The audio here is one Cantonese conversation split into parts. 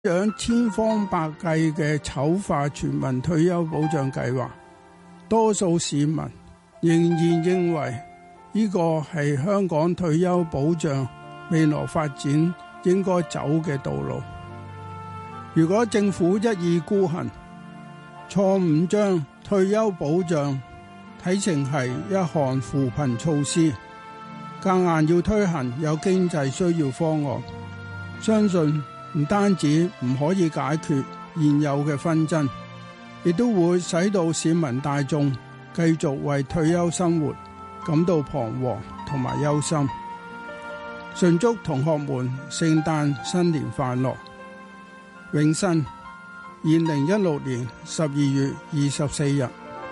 想千方百計嘅醜化全民退休保障計劃，多數市民仍然認為呢個係香港退休保障未來發展應該走嘅道路。如果政府一意孤行，錯誤將退休保障睇成係一項扶貧措施，夾硬要推行有經濟需要方案，相信唔單止唔可以解決現有嘅紛爭，亦都會使到市民大眾繼續為退休生活感到彷徨同埋憂心。順祝同學們聖誕新年快樂！永新2016年12月24日。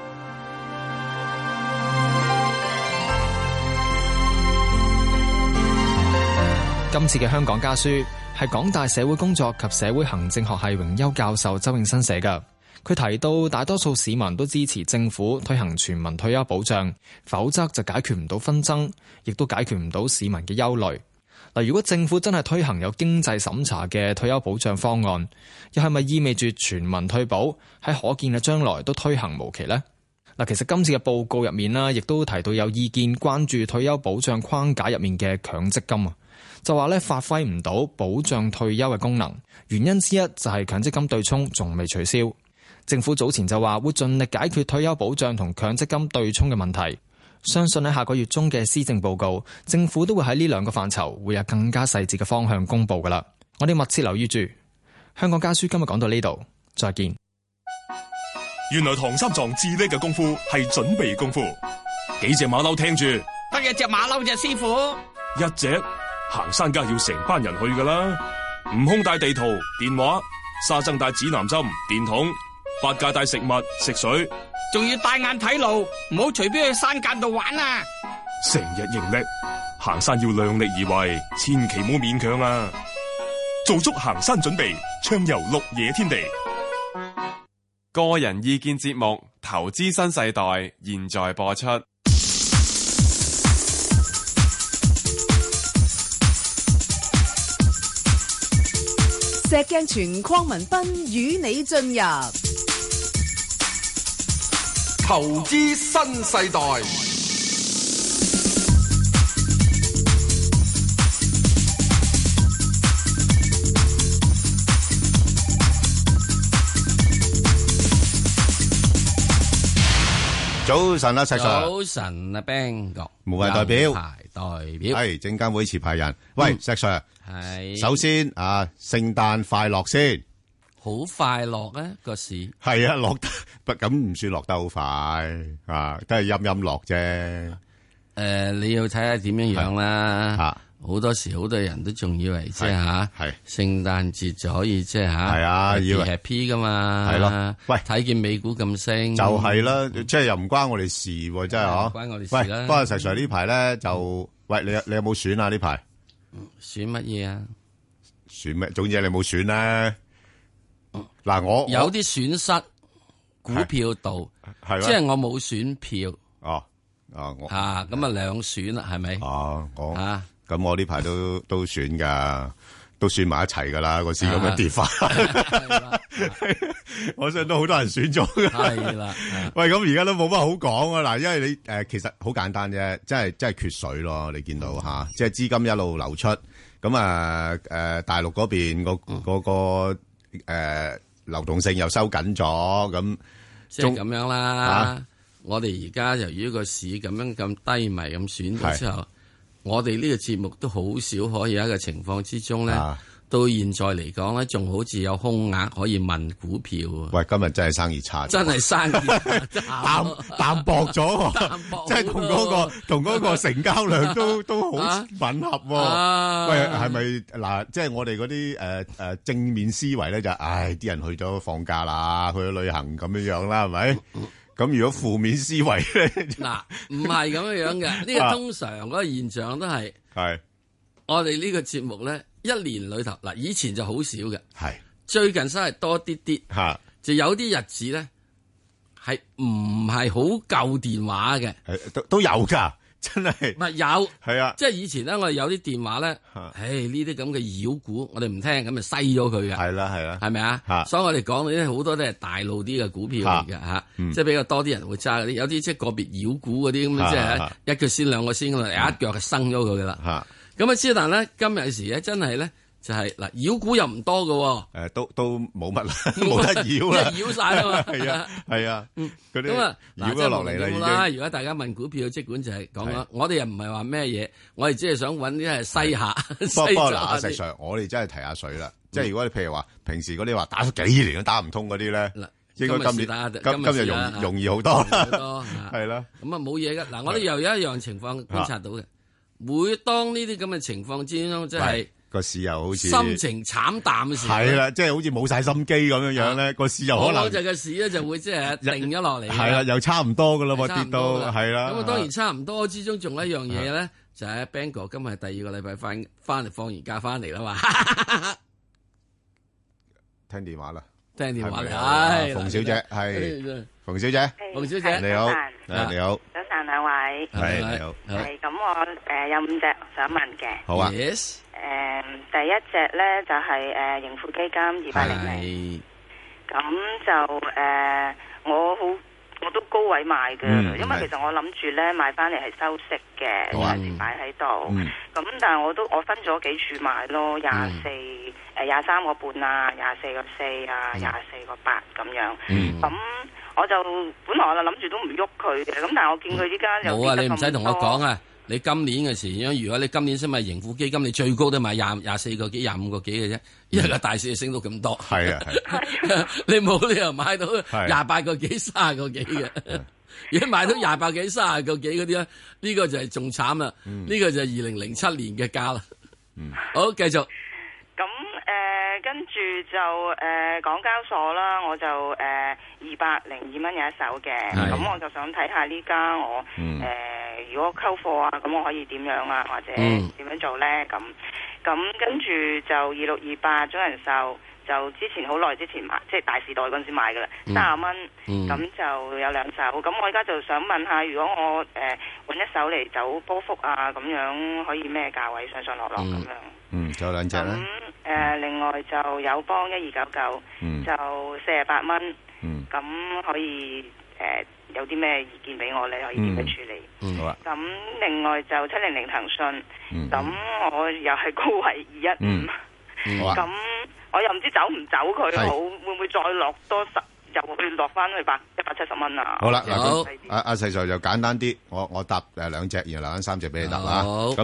今次嘅香港家書係港大社會工作及社會行政學系榮休教授周永新寫嘅。佢提到大多數市民都支持政府推行全民退休保障，否則就解決唔到紛爭，亦都解決唔到市民嘅憂慮。嗱，如果政府真係推行有經濟審查嘅退休保障方案，又係咪意味住全民退保喺可見嘅將來都推行無期呢？嗱，其實今次嘅報告入面啦，亦都提到有意見關注退休保障框架入面嘅強積金啊，就話咧發揮唔到保障退休嘅功能，原因之一就係強積金對沖仲未取消。政府早前就話會盡力解決退休保障同強積金對沖嘅問題。相信喺下個月中嘅施政報告，政府都會喺呢兩個範疇會有更加細節嘅方向公布噶啦。我哋密切留意住。香港家書今日講到呢度，再見。 原來唐三藏至叻嘅功夫係準備功夫。幾隻馬騮聽住， 得一隻馬騮啫，師傅。 一隻行山梗係要成班人去噶啦。悟空帶地圖、電話，沙僧帶指南針、電筒，八戒帶食物、食水。 仲要帶眼睇路，唔好隨便去山澗度玩啊！ 成日認叻，行山要量力而為，千祈唔好勉強啊！做足行山準備，暢遊綠野天地。 個人意見節目《投資新世代》現在播出。 石鏡泉鄺民彬與你進入投資新世代。 早晨啊，石 Sir。 早晨啊 ，Bang 哥。 無謂代表。 代表。 係證監會持牌人。喂，石 Sir。 係。 首先啊，聖誕快樂先。 好快樂啊個市。 係啊，落得不咁唔算落得好快啊，都係陰陰落啫。 你要睇下點樣樣啦。好多時好多人都仲以為即係吓，聖誕節就可以即係吓， 係啊，以為 happy 噶嘛， 係咯。喂， 睇見美股咁升， 就係啦，即係又唔關我哋事喎，真係嗬。 關我哋事啦。 不過石 Sir 呢排咧就，喂，你有冇選啊呢排？ 選乜嘢啊？ 選咩？總之你冇選咧。嗱，我有啲損失股票度，即係我冇選票。 我咁啊兩選啦，係咪？ 咁我呢排都選噶，都選埋一齊噶啦，個市咁樣跌法，我相信都好多人選咗噶。 係啦， 喂，咁而家都冇乜好講啊！嗱，因為你其實好簡單啫，真係缺水咯。你見到吓，即係資金一路流出，咁大陸嗰邊嗰個流動性又收緊咗，咁即係咁樣啦。我哋而家由於個市咁樣咁低迷咁選咗之後。我哋呢個節目都好少可以喺個情況之中咧，到現在嚟講咧，仲好似有空額可以問股票。 喂，今日真係生意差， 真係生意淡薄咗，即係同嗰個成交量都好吻合。喂，係咪嗱？即係我哋嗰啲正面思維咧，就啲人去咗放假啦，去咗旅行咁樣樣啦，係咪？咁如果負面思維咧， 嗱，唔係咁樣樣嘅，呢個通常嗰個現象都係我哋呢個節目咧，一年裏頭嗱，以前就好少嘅，最近真係多啲啲，就有啲日子咧係唔係好夠電話嘅， 都有噶， 真係唔係有係啊， 即係以前咧，我哋有啲電話咧，呢啲咁嘅妖股，我哋唔聽，咁咪篩咗佢嘅。 係啦係啦， 係咪啊？所以我哋講呢啲好多都係大路啲嘅股票嚟嘅嚇，即係比較多啲人會揸嗰啲，有啲即係個別妖股嗰啲咁，即係一腳先兩個先咁啊，一腳就生咗佢噶啦。咁啊，之但咧今日時咧真係咧。就係嗱，妖股又唔多嘅， 都冇乜啦，冇得妖啦， 妖晒啊嘛， 係啊，嗰啲咁啊， 妖咗落嚟啦已經。 如果大家問股票，即管就係講啦，我哋又唔係話咩嘢，我哋只係想揾啲係西下。 不過嗱，阿石 Sir，我哋真係提下水啦，即係如果你譬如話平時嗰啲話打咗幾年都打唔通嗰啲咧，應該今日容易好多，係啦。咁啊冇嘢噶，嗱，我哋又有一樣情況觀察到嘅，每當呢啲咁嘅情況之中，即係。 個市又好似心情慘淡嘅時候， 係啦，即係好似冇晒心機咁樣樣咧，個市又可能嗰隻嘅市咧就會即係定咗落嚟。 係啦，又差唔多噶啦，跌到係啦。 咁啊，當然差唔多之中，仲有一樣嘢咧，就係 Bang 哥今日第2個禮拜翻嚟放完假翻嚟啦嘛。 聽電話啦， 聽電話嚟， 係馮小姐，係馮小姐， 馮小姐你好，你好， 早晨兩位， 係你好， 係咁我有5隻想問嘅， 好啊。 第一隻咧就係盈富基金2800，咁就我都高位買嘅，因為其實我諗住咧買翻嚟係收息嘅，暫時擺喺度。咁但係我分咗幾處買咯，23個半啊，24個4啊，24個8咁樣。咁我就本來我就諗住都唔喐佢嘅，咁但係我見佢依家有冇啊？你唔使同我講啊！你今年嘅時，如果你今年先買盈富基金，你最高都買24個幾、25個幾嘅啫，因為個大市升到咁多。係啊，你冇理由買到28個幾、30個幾嘅。如果買到28幾、30個幾嗰啲咧，呢個就係仲慘啦。呢個就係2007年嘅價啦。好，繼續。 咁跟住就港交所啦，我就202蚊有一手嘅，咁我就想睇下呢家我如果溝貨啊，咁我可以點樣啊，或者點樣做咧？咁跟住就2628中人壽，就之前好耐之前買，即係大時代嗰陣時買噶啦，30蚊，咁就有2手。咁我而家就想問下，如果我揾一手嚟走波幅啊，咁樣可以咩價位上落咁樣？ 仲有2隻咧。 另外就友邦1299，就48蚊。咁可以有啲咩意見俾我咧？可以點樣處理？ 好啊。咁另外就700騰訊，咁我又係高位215。咁我又唔知走唔走佢好，會唔會再落多10？又會落翻去170蚊啊！ 好啦，嗱，阿細 Sir 就簡單啲，我答2隻，然後留翻3隻俾你答啦。咁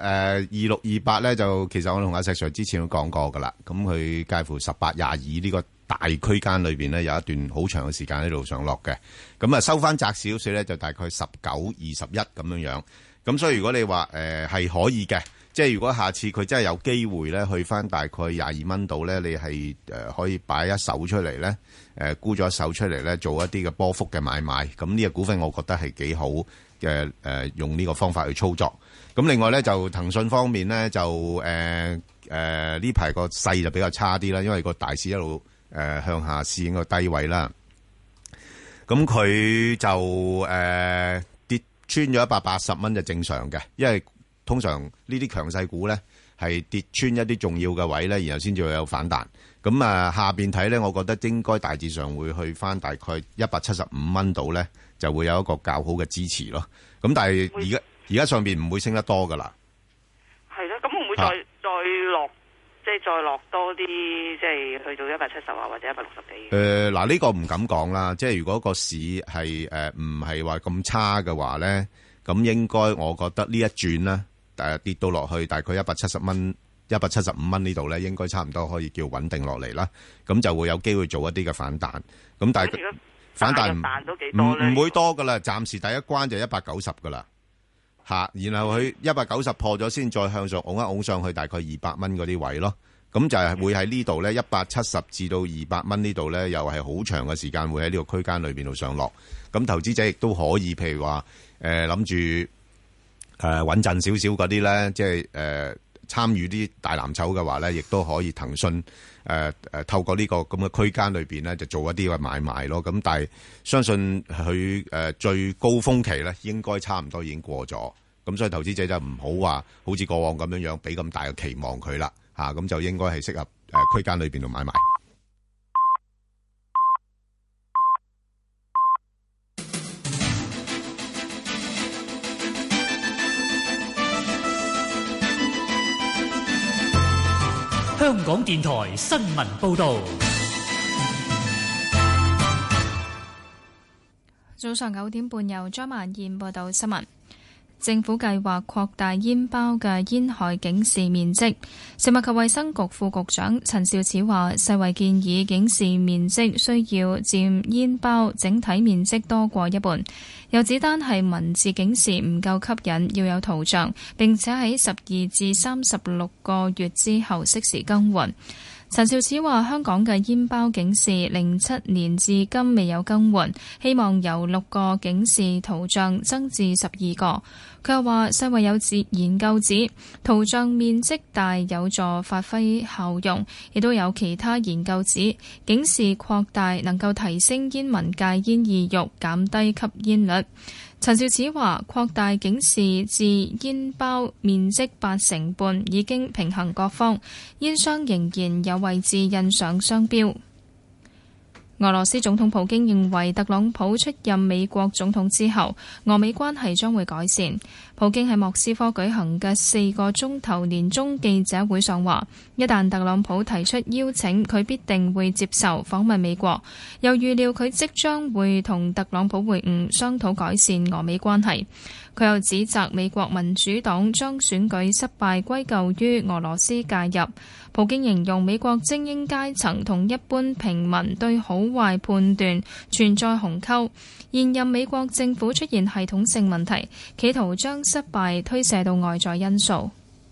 2628咧就其實我同阿細 Sir 之前都講過噶啦。咁佢介乎18、22呢個大區間裏邊咧有一段好長嘅時間喺度上落嘅。咁收翻窄少少咧就大概19、21咁樣樣。咁所以如果你話係可以嘅。即係如果下次佢真係有機會咧，去翻大概22蚊度咧，你係可以擺一手出嚟咧，沽咗一手出嚟咧，做一啲嘅波幅嘅買賣。咁呢個股份我覺得係幾好嘅，用呢個方法去操作。咁另外咧就騰訊方面咧就呢排個勢就比較差啲啦，因為個大市一路向下試應個低位啦。咁佢就跌穿咗180蚊就正常嘅，因為通常呢啲強勢股咧係跌穿一啲重要嘅位咧，然後先至會有反彈。咁下邊睇咧，我覺得應該大致上會去翻大概175蚊度咧，就會有一個較好嘅支持咯。咁但係而家上邊唔會升得多噶啦。 係咯，咁會唔會再落，即係再落多啲，即係去到170啊，或者160幾？ 嗱，呢個唔敢講啦。即係如果個市係唔係話咁差嘅話咧，咁應該我覺得呢一轉咧。跌到落去大概175蚊呢度咧，應該差唔多可以叫穩定落嚟啦。咁就會有機會做一啲嘅反彈。咁但係反彈唔會多噶啦，暫時第一關就190噶啦嚇，然後佢190破咗先，再向上拱一拱上去大概200蚊嗰啲位咯。咁就係會喺呢度咧170至到200蚊呢度咧，又係好長嘅時間會喺呢個區間裏邊度上落。咁投資者亦都可以譬如話諗住。穩陣少少嗰啲咧，即係參與啲大藍籌嘅話咧，亦都可以騰訊透過呢個咁嘅區間裏邊咧，就做一啲嘅買賣咯。咁但係相信佢最高峰期咧，應該差唔多已經過咗。咁所以投資者就唔好話好似過往咁樣俾咁大嘅期望佢啦。咁就應該係適合區間裏邊度買賣。 香港電台新聞報道。 早上9點半，由張曼燕報道新聞。政府計劃擴大煙包嘅煙害警示面積。食物及衛生局副局長陳肇始話，世衛建議警示面積需要佔煙包整體面積多過一半。又指單係文字警示唔夠吸引，要有圖像，並且喺12至36個月之後適時更換。陳肇始話：香港嘅煙包警示07年至今未有更換，希望由6個警示圖像增至12個。佢又話：世衛有研究指圖像面積大有助發揮效用，亦都有其他研究指警示擴大能夠提升煙民戒煙意欲，減低吸煙率。陳肇始話：擴大警示至煙包面積80%半，已經平衡各方，煙商仍然有位置印上商標。俄羅斯總統普京認為特朗普出任美國總統之後，俄美關係將會改善。普京喺莫斯科舉行嘅4個鐘頭年終記者會上話，一旦特朗普提出邀請，佢必定會接受訪問美國。又預料佢即將會同特朗普會晤，商討改善俄美關係。佢又指責美國民主黨將選舉失敗歸咎於俄羅斯介入。普京形容美國精英階層同一般平民對好壞判斷存在鴻溝，現任美國政府出現系統性問題，企圖將失敗推卸到外在因素。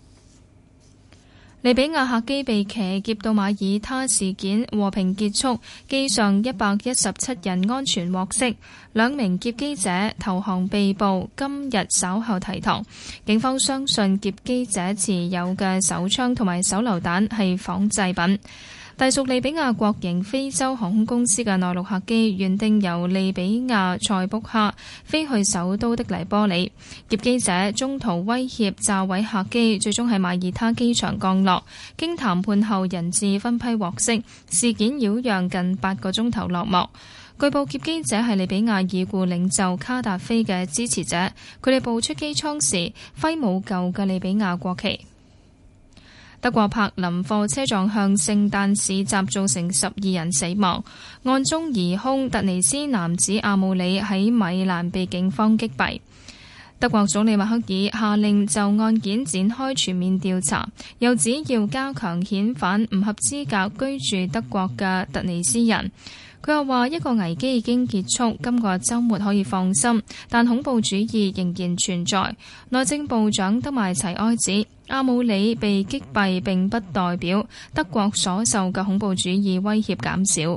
利比亞客機被騎劫到馬耳他事件和平結束，機上117人安全獲釋，2名劫機者投降被捕，今日稍後提堂。警方相信劫機者持有嘅手槍同埋手榴彈係仿製品。隸屬利比亞國營非洲航空公司嘅內陸客機原定由利比亞塞卜克飛去首都的黎波里，劫機者中途威脅炸毀客機，最終喺馬耳他機場降落。經談判後，人質分批獲釋，事件擾攘近8個鐘頭落幕。據報劫機者係利比亞已故領袖卡達菲嘅支持者，佢哋步出機艙時揮舞舊嘅利比亞國旗。德國柏林貨車撞向聖誕市集，造成12人死亡。案中疑兇突尼斯男子阿姆里喺米蘭被警方擊斃。德國總理默克爾下令就案件展開全面調查，又指要加強遣返唔合資格居住德國嘅突尼斯人。佢又話一個危機已經結束，今個週末可以放心，但恐怖主義仍然存在。內政部長德邁齊埃指，阿姆里被擊斃並不代表德國所受嘅恐怖主義威脅減少。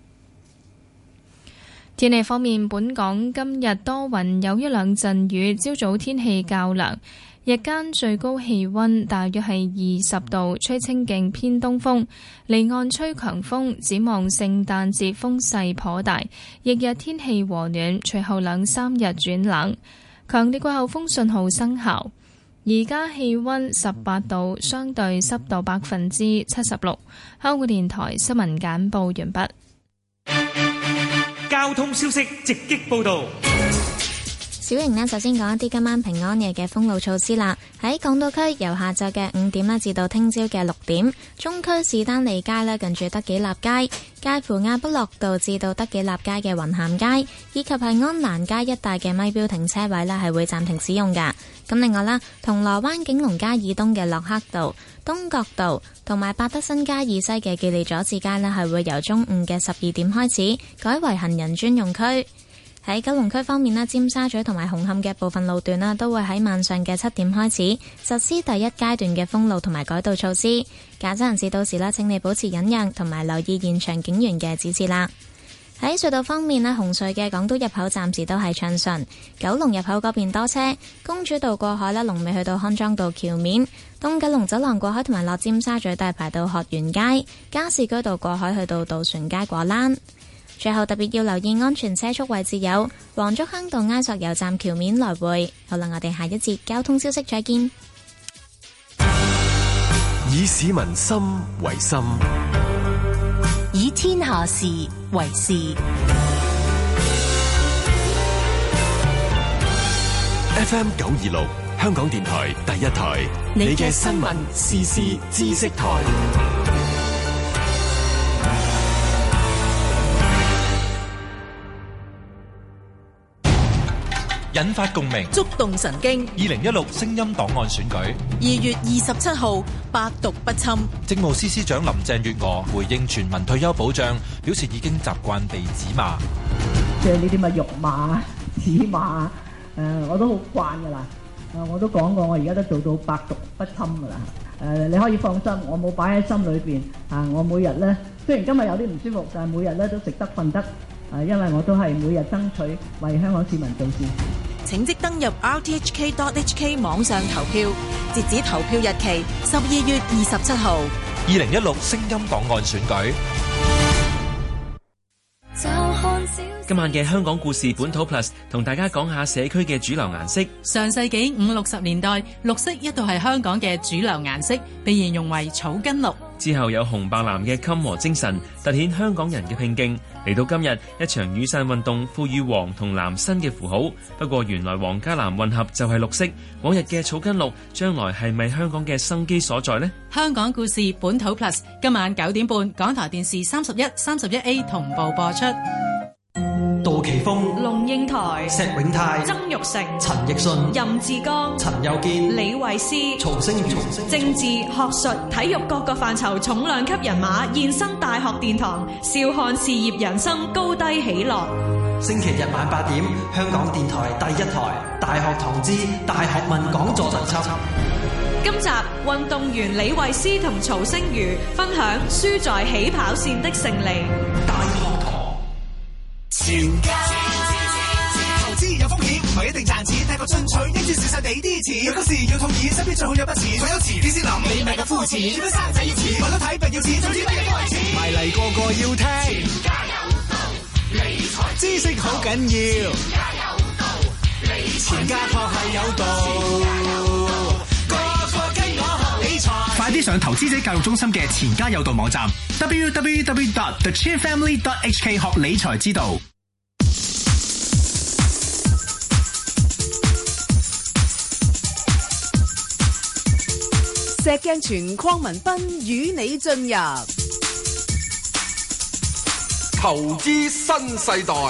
天氣方面，本港今日多雲，有一兩陣雨，朝早天氣較涼。日間最高氣溫大約係20度，吹清勁偏東風，離岸吹強風。展望聖誕節風勢頗大，翌日天氣和暖，隨後2-3日轉冷。強烈季候風信號生效。而家氣溫18度，相對濕度76%。香港電台新聞簡報完畢。 交通消息直擊報道。 小瑩呢，首先講一啲今晚平安夜嘅封路措施啦。喺港島區由下晝嘅5點啦，至到聽朝嘅6點，中區士丹利街呢，近住德己立街，介乎亞卜樂道至到德己立街嘅雲咸街，以及係安蘭街一帶嘅咪標停車位呢，係會暫停使用噶。咁另外啦，銅鑼灣景隆街以東嘅洛克道、東角道同埋百德新街以西嘅記利佐治街呢，係會由中午嘅12點開始改為行人專用區。喺九龍區方面呢，尖沙咀同埋紅磡嘅部分路段啦，都會喺晚上嘅7點開始實施第一階段嘅封路同埋改道措施。駕駛人士到時啦，請你保持忍讓同埋留意現場警員嘅指示啦。 喺隧道方面呢，紅隧嘅港島入口暫時都係暢順，九龍入口嗰邊多車，公主道過海呢，龍尾去到康莊道橋面，東九龍走廊過海同埋落尖沙咀都係排到學園街，加士居道過海去到渡船街果欄。最後特別要留意安全車速位置有黃竹坑道埃索油站橋面來回。好啦，我哋下一節交通消息再見。 以市民心為心， 以天下事為事。 FM 926香港電台第一台，你嘅新聞時事知識台。 引發共鳴， 觸動神經。 2016聲音檔案選舉 2月27號，百毒不侵。 政務司司長林鄭月娥回應全民退休保障，表示已經習慣被指罵。 即係呢啲乜辱罵、指罵，我都好慣㗎啦。我都講過，我而家都做到百毒不侵㗎啦。你可以放心，我冇擺喺心裏邊。我每日咧，雖然今日有啲唔舒服，但係每日咧都食得瞓得。因為我都係每日爭取為香港市民做事。 請即登入 rthk.hk 網上投票，截止投票日期12月27號。 2016聲音檔案選舉。 今晚嘅香港故事本土 Plus 同大家講下社區嘅主流顏色。 上世紀50、60年代，綠色一度係香港嘅主流顏色，被形容為草根綠。 之後有紅白藍嘅襟和精神，凸顯香港人嘅拼勁。嚟到今日，一場雨傘運動賦予黃同藍新嘅符號。不過原來黃加藍混合就係綠色。往日嘅草根綠，將來係咪香港嘅生機所在呢？ 香港故事本土 Plus 今晚9點半，港台電視31、31A 同步播出。 杜琪峰、 龍應台、 石永泰、 曾鈺成、 陳奕迅、 任志剛、 陳佑堅、 李慧詩、 曹星如、 政治、學術、體育各個範疇重量級人馬現身大學殿堂，笑看事業人生高低起落。 星期日晚8點，香港電台第一台大學堂之大學問講座特輯。 今集運動員李慧詩同曹星如分享輸在起跑線的勝利。 大學堂全家投資有風險，唔係一定賺錢，太過進取，跟住蝕晒地啲錢。有急事要套現，身邊最好有筆錢，所有遲啲先諗，你咪咁膚淺。點樣生仔要錢，為咗睇病要錢，總之乜嘢都係錢。埋嚟個個要聽，全家有道，理財知識好緊要。全家有道，理財全家確係有道，個個跟我學理財。 快啲上投資者教育中心嘅錢家有道網站 www.thechinfamily.hk 學理財之道。 石鏡泉鄺民彬與你進入投資新世代。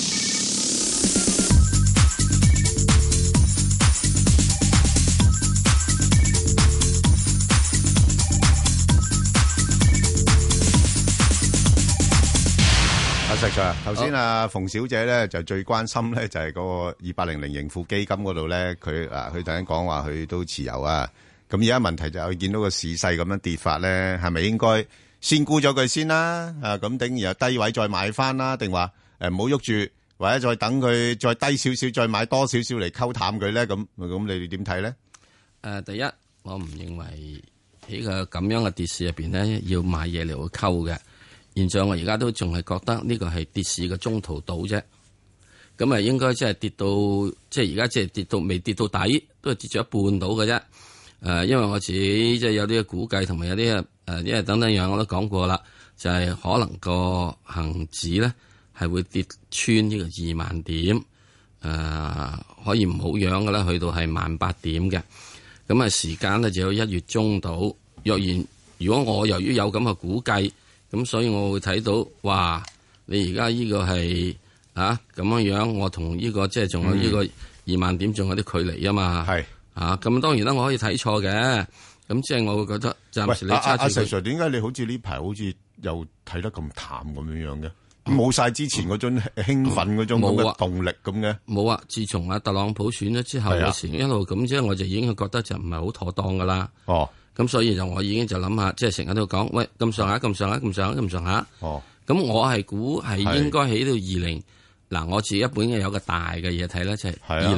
石 Sir， 頭先馮小姐咧就最關心咧就係嗰個2800盈富基金嗰度咧，佢突然講話佢都持有啊。咁而家問題就係見到個市勢咁樣跌法咧，係咪應該先沽咗佢先啦？咁等然後低位再買翻啦，定話唔好喐住，或者再等佢再低少少，再買多少少嚟溝淡佢咧？咁你哋點睇咧？ 第一，我唔認為喺個咁樣嘅跌市入邊咧，要買嘢嚟去溝嘅。現在我而家都仲係覺得呢個係跌市嘅中途島啫。咁啊，應該即係跌到即係而家即係跌到未跌到底，都係跌咗一半到嘅啫。因為我自己即係有啲估計，同埋有啲因為等等樣我都講過啦，就係可能個恒指咧係會跌穿呢個2萬點，可以唔好樣嘅啦，去到係18000點嘅。咁啊，時間咧就有1月中到。若然如果我由於有咁嘅估計，咁所以我會睇到，哇！你而家呢個係咁樣，我同呢個即係仲有呢個2萬點仲有啲距離啊嘛。係咁當然啦，我可以睇錯嘅。咁即係我會覺得暫時你揸住。 石 Sir， 點解你好似呢排好似又睇得咁淡咁樣嘅？冇晒之前嗰種興奮嗰種咁嘅動力咁嘅？ 冇啊！自從特朗普選咗之後，有時一路咁即係我就已經覺得就唔係好妥當噶啦。哦。咁所以就我已經就諗下，即係成日都講，喂咁上下。 咁我係估係應該起到20嗱，我自己本嘅有個大嘅嘢睇咧，就係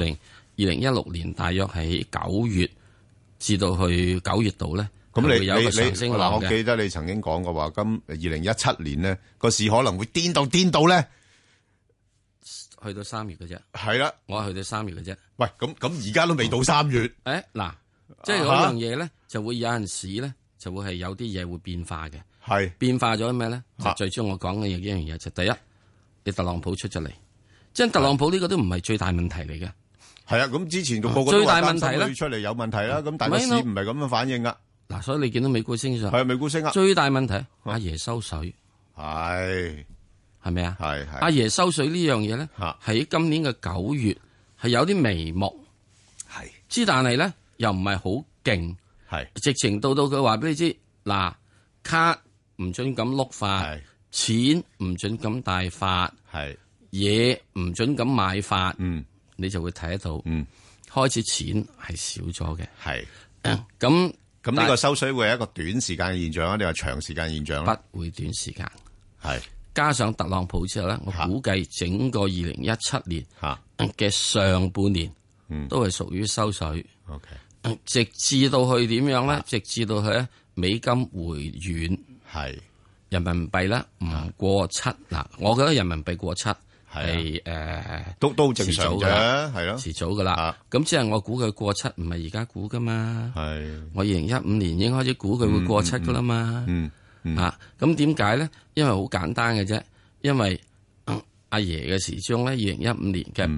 2016年大約係9月至到去9月度咧。咁你有個上升浪嘅。 我記得你曾經講過話，今2017年咧個市可能會癲到咧， 去到3月嘅啫。 係啦， 我係去到3月嘅啫。 喂，咁而家都未到3月。 嗱，即係嗰樣嘢咧，就會有陣時咧，就會係有啲嘢會變化嘅。 係變化咗咩咧？就最終我講嘅一樣嘢就第一，你特朗普出咗嚟，即係特朗普呢個都唔係最大問題嚟嘅。 係啊，咁之前個個最大問題咧出嚟有問題啦，咁但係個市唔係咁樣反應噶。 嗱，所以你見到美股升上， 係美股升啊。 最大問題，阿爺收水， 係咪啊？ 係阿爺收水呢樣嘢咧，喺今年嘅9月係有啲眉目， 係之但係咧又唔係好勁， 係直情到佢話俾你知，嗱，卡唔准咁碌發，錢唔准咁大發，嘢唔准咁買發，你就會睇得到，開始錢係少咗嘅， 咁呢個收水會係一個短時間嘅現象啊？定係長時間現象咧？ 不會短時間， 係加上特朗普之後咧，我估計整個2017年嘅上半年都係屬於收水。 OK， 直至到去點樣咧？直至到去咧美金回軟， 係人民幣咧唔過7嗱，我覺得人民幣過7係都正常嘅，係咯， 遲早噶啦。咁即係我估佢過7，唔係而家估噶嘛。 係我2015年已經開始估佢會過7噶啦嘛。咁點解咧？因為好簡單嘅啫，因為阿爺嘅時鐘咧，2015年嘅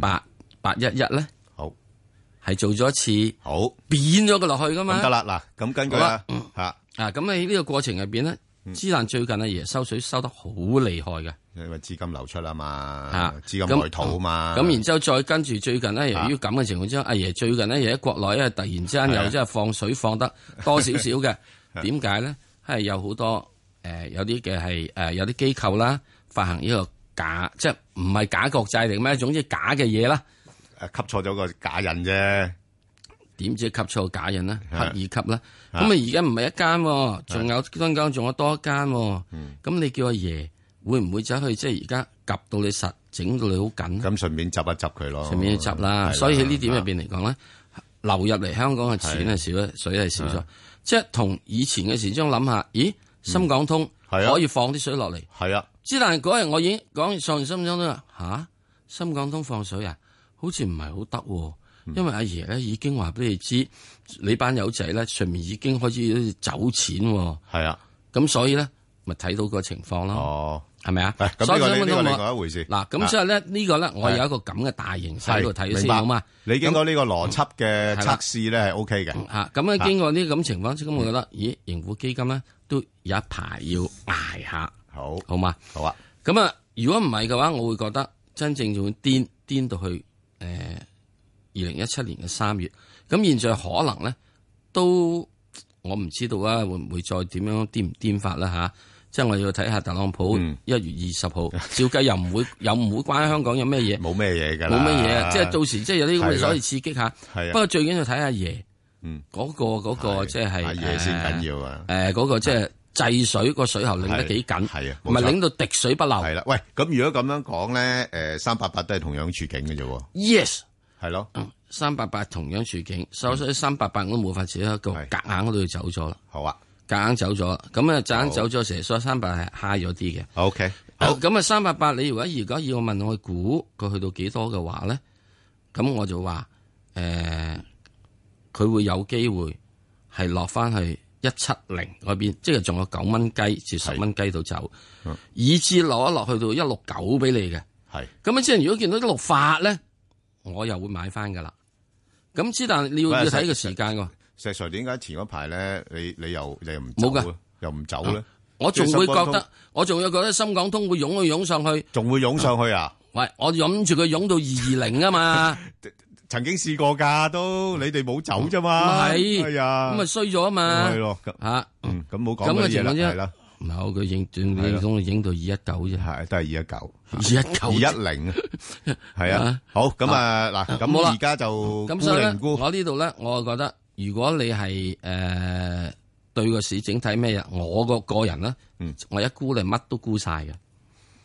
811咧， 好係做咗一次好扁咗佢落去噶嘛。 咁得啦，嗱，咁根據啦咁喺呢個過程入邊咧，之但最近阿爺收水收得好厲害嘅。 因為資金流出啊嘛，資金外逃啊嘛， 咁然之後再跟住最近咧，由於咁嘅情況之下，阿爺最近咧又喺國內，因為突然之間又即係放水放得多少少嘅，點解咧？係有好多有啲嘅係有啲機構啦，發行呢個假，即係唔係假國債定咩？總之假嘅嘢啦， 吸錯咗個假印啫。 點知吸錯假印咧？刻意吸啦。咁啊而家唔係一間，仲有香港仲有多一間。咁你叫阿爺會唔會走去即係而家夾到你實，整到你好緊？ 咁順便執一執佢咯。 順便執啦。所以喺呢點入邊嚟講咧，流入嚟香港嘅錢係少咗，水係少咗。即係同以前嘅時鐘諗下，咦？深港通可以放啲水落嚟。 係啊。 之但係嗰日我已經講上完深港通啦，吓深港通放水啊，好似唔係好得。因為阿爺咧已經話俾你知，你班友仔咧上面已經開始走錢。 係啊。咁所以咧咪睇到個情況咯。 哦。 係咪啊？ 咁呢個另外一回事。 嗱，咁所以咧呢個咧，我有一個咁嘅大形勢喺度睇先好嘛。 你經過呢個邏輯嘅測試咧係 OK 嘅。 咁啊經過呢咁情況，咁我覺得，咦，盈富基金咧都有一排要捱下。好嘛？好啊。咁啊，如果唔係嘅話，我會覺得真正仲會癲到去2017年嘅3月。咁現在可能咧都我唔知道啊，會唔會再點樣癲唔癲法啦吓？即係我要睇下特朗普1月20號，照計又唔會關香港有咩嘢， 冇咩嘢㗎， 冇咩嘢啊！即係到時即係有啲咁嘅所謂刺激下。 係啊。 不過最緊要睇下爺，嗰個即係阿爺先緊要啊！ 嗰個即係制水個水喉擰得幾緊， 係啊， 唔係擰到滴水不漏。 係啦，喂，咁如果咁樣講咧，388都係同樣處境嘅啫喎。 Yes， 係咯 ，388同樣處境，所以388我都冇法子一個夾硬嗰度走咗啦。 好啊。 夾硬走咗，咁啊夾硬走咗成，所以388係 high 咗啲嘅。 OK， 好，咁啊388，你如果要我問我估佢去到幾多嘅話咧，咁我就話佢會有機會係落翻去170嗰邊，即係仲有9蚊雞至10蚊雞度走，以至落一落去到169俾你嘅。係，咁啊即係如果見到168咧，我又會買翻噶啦。咁之但你要睇個時間喎。 石 Sir 點解前嗰排咧，你又唔冇噶， 又唔走咧？ 我仲會覺得深港通會湧上去， 仲會湧上去啊？ 喂，我諗住佢湧到220啊嘛， 曾經試過噶，都你哋冇走啫嘛， 係， 係啊， 咁咪衰咗啊嘛， 係咯， 吓， 咁冇講乜嘢啦，係啦， 唔係佢影到219啫， 係都係 219，210， 係啊，好，咁啊嗱，咁而家就咁所以咧，我呢度咧，我覺得。如果你係對個市整體咩嘢，我個人咧，我一估你乜都估晒嘅。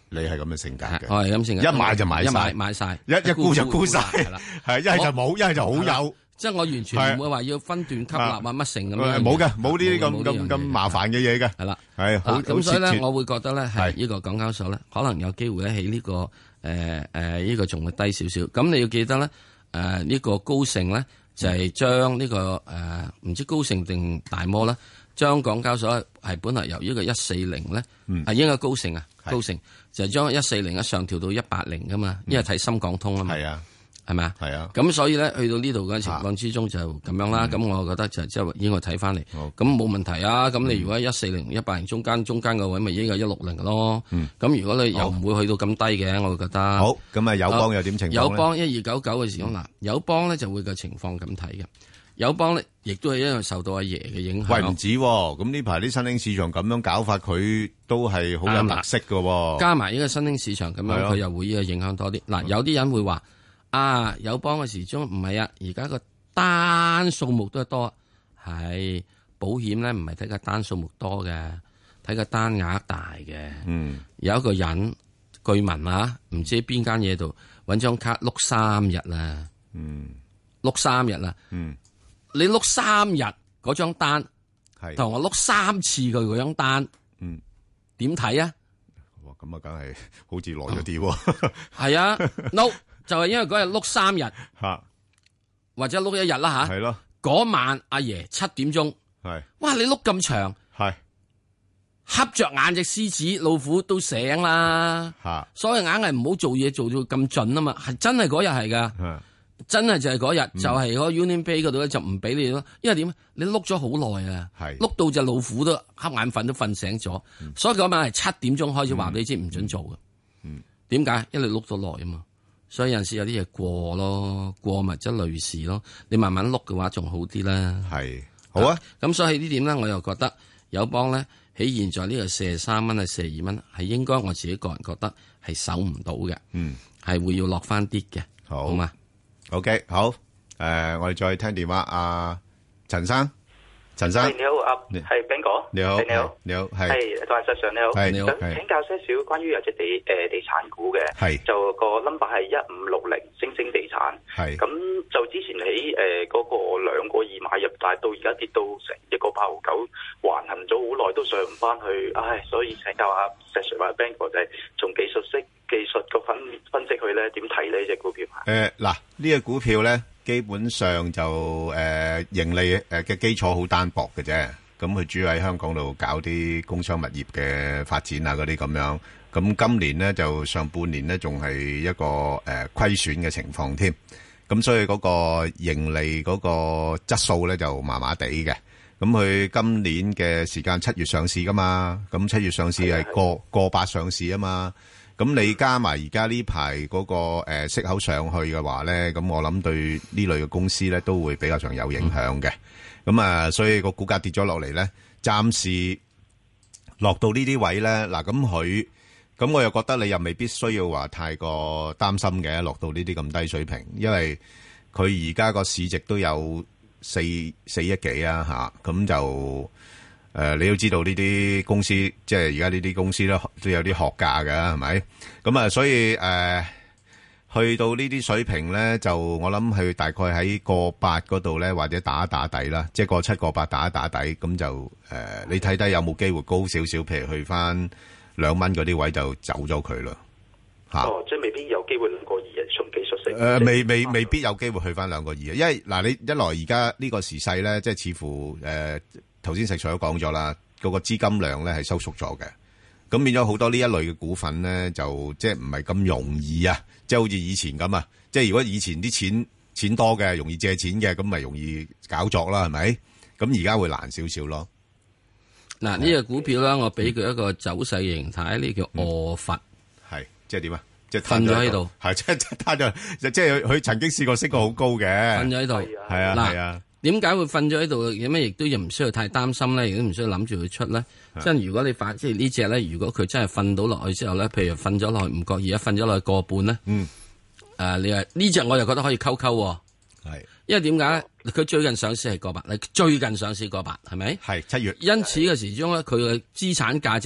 你係咁嘅性格嘅， 我係咁性格， 一買就買晒， 買晒， 一沽就沽晒，係啦，係一係就冇，一係就好有。 即係我完全唔會話要分段吸納啊乜成咁樣， 冇嘅，冇呢啲咁麻煩嘅嘢嘅， 係啦， 係咁所以咧，我會覺得咧係呢個港交所咧，可能有機會咧喺呢個呢個仲會低少少。咁你要記得咧，呢個高盛咧就係將呢個唔知高盛定大摩啦，將港交所係本來由呢個140咧，係應該高盛啊，高盛就係將140上調到180噶嘛，因為睇深港通啊嘛。係啊。係咪啊？係啊！咁所以咧，去到呢度嘅情況之中就咁樣啦。咁我覺得就即係應該睇翻嚟，咁冇問題啊！咁你如果140、180中間個位，咪應該160嘅咯。咁如果你又唔會去到咁低嘅，我會覺得好。咁啊，友邦又點情況咧？ 友邦1299嘅時候嗱，友邦咧就會個情況咁睇嘅。友邦咧亦都係一樣受到阿爺嘅影響。 喂，唔止喎！咁呢排啲新興市場咁樣搞法，佢都係好有特色嘅喎。 加埋呢個新興市場咁樣，佢又會呢個影響多啲。嗱，有啲人會話。友邦嘅時鐘唔係啊，而家個單數目都係多，係保險咧唔係睇個單數目多嘅，睇個單額大嘅。有一個人據聞啊，唔知邊間嘢度搵張卡碌3日啦，碌3日啦，你碌3日嗰張單，同我碌3次佢嗰張單，點睇啊？ 哇，咁啊，梗係好似耐咗啲喎。 係啊 ，no。就係因為嗰日碌3日，或者碌1日啦吓。係咯。嗰晚阿爺7點鐘，係。哇！你碌咁長，係。瞌着眼隻獅子老虎都醒啦。吓。所以硬係唔好做嘢做到咁盡啊嘛，係真係嗰日係噶。真係就係嗰日，就係嗰個 Union Bay 嗰度咧就唔俾你咯，因為點？你碌咗好耐啊，碌到隻老虎都瞌眼瞓都瞓醒咗，所以嗰晚係7點鐘開始話俾你知唔准做嘅。點解？因為你碌咗耐啊嘛。所以有陣時有啲嘢過咯，過咪即係累事咯。你慢慢碌嘅話仲好啲啦。係，好啊。咁所以呢點咧，我又覺得友邦咧喺現在呢個43蚊啊42蚊，係應該我自己個人覺得係守唔到嘅。係會要落翻啲嘅。好嘛 ？OK， 好。我哋再聽電話。阿陳生，陳生， 你好，係 Ben 哥。 你好， 你好， 你好， 係同埋石 Sir 你好， 你好， 想請教些少關於有隻地產股嘅，就個 number 係1560星星地產，咁就之前喺嗰個2個2買入，但係到而家跌到成1.89，橫行咗好耐都上唔翻去，所以請教下石 Sir 或者 Ben 哥，就係從技術個分析去咧，點睇呢隻股票？ 嗱，呢個股票咧，基本上就盈利嘅基礎好單薄嘅啫。咁佢主要喺香港度搞啲工商物業嘅發展啊，嗰啲咁樣。咁今年咧就上半年咧仲係一個虧損嘅情況添。咁所以嗰個盈利嗰個質素咧就麻麻地嘅。咁佢今年嘅時間7月上市噶嘛，咁7月上市係過8上市啊嘛。咁你加埋而家呢排嗰個息口上去嘅話咧，咁我諗對呢類嘅公司咧都會比較上有影響嘅。咁啊，所以個股價跌咗落嚟咧，暫時落到呢啲位咧，嗱咁我又覺得你又未必需要話太過擔心嘅，落到呢啲咁低水平，因為佢而家個市值都有4億幾啊吓，咁就你都知道呢啲公司，即係而家呢啲公司咧都有啲學價㗎，係咪？咁啊，所以去到呢啲水平咧，就我諗佢大概喺1.8嗰度咧，或者打一打底啦，即係1.7、1.8打一打底，咁就你睇睇有冇機會高少少，譬如去翻2蚊嗰啲位就走咗佢啦。 即係未必有機會2.2啊，從技術性。 未必有機會去翻2.2啊，因為嗱，你一來而家呢個時勢咧，即係似乎頭先石 Sir 都講咗啦，嗰個資金量咧係收縮咗嘅。咁變咗好多呢一類嘅股份咧，就即係唔係咁容易啊！即係好似以前咁啊！即係如果以前啲錢多嘅，容易借錢嘅，咁咪容易搞作啦，係咪？咁而家會難少少咯。 嗱，呢個股票咧，我俾佢一個走勢形態，呢叫臥佛， 係即係點啊？即係瞓咗喺度， 係即係攤咗，即係佢曾經試過升過好高嘅， 瞓咗喺度， 係啊，係啊。 點解會瞓咗喺度？有咩亦都唔需要太擔心咧，亦都唔需要諗住佢出咧。即係如果你即係呢隻咧，如果佢真係瞓到落去之後咧，譬如瞓咗落去唔覺意，瞓咗落去1.5咧，你話呢隻我就覺得可以溝，係，因為點解咧？佢最近上市係1.8，最近上市1.8，係咪？係7月。因此嘅時鐘咧，佢嘅資產價值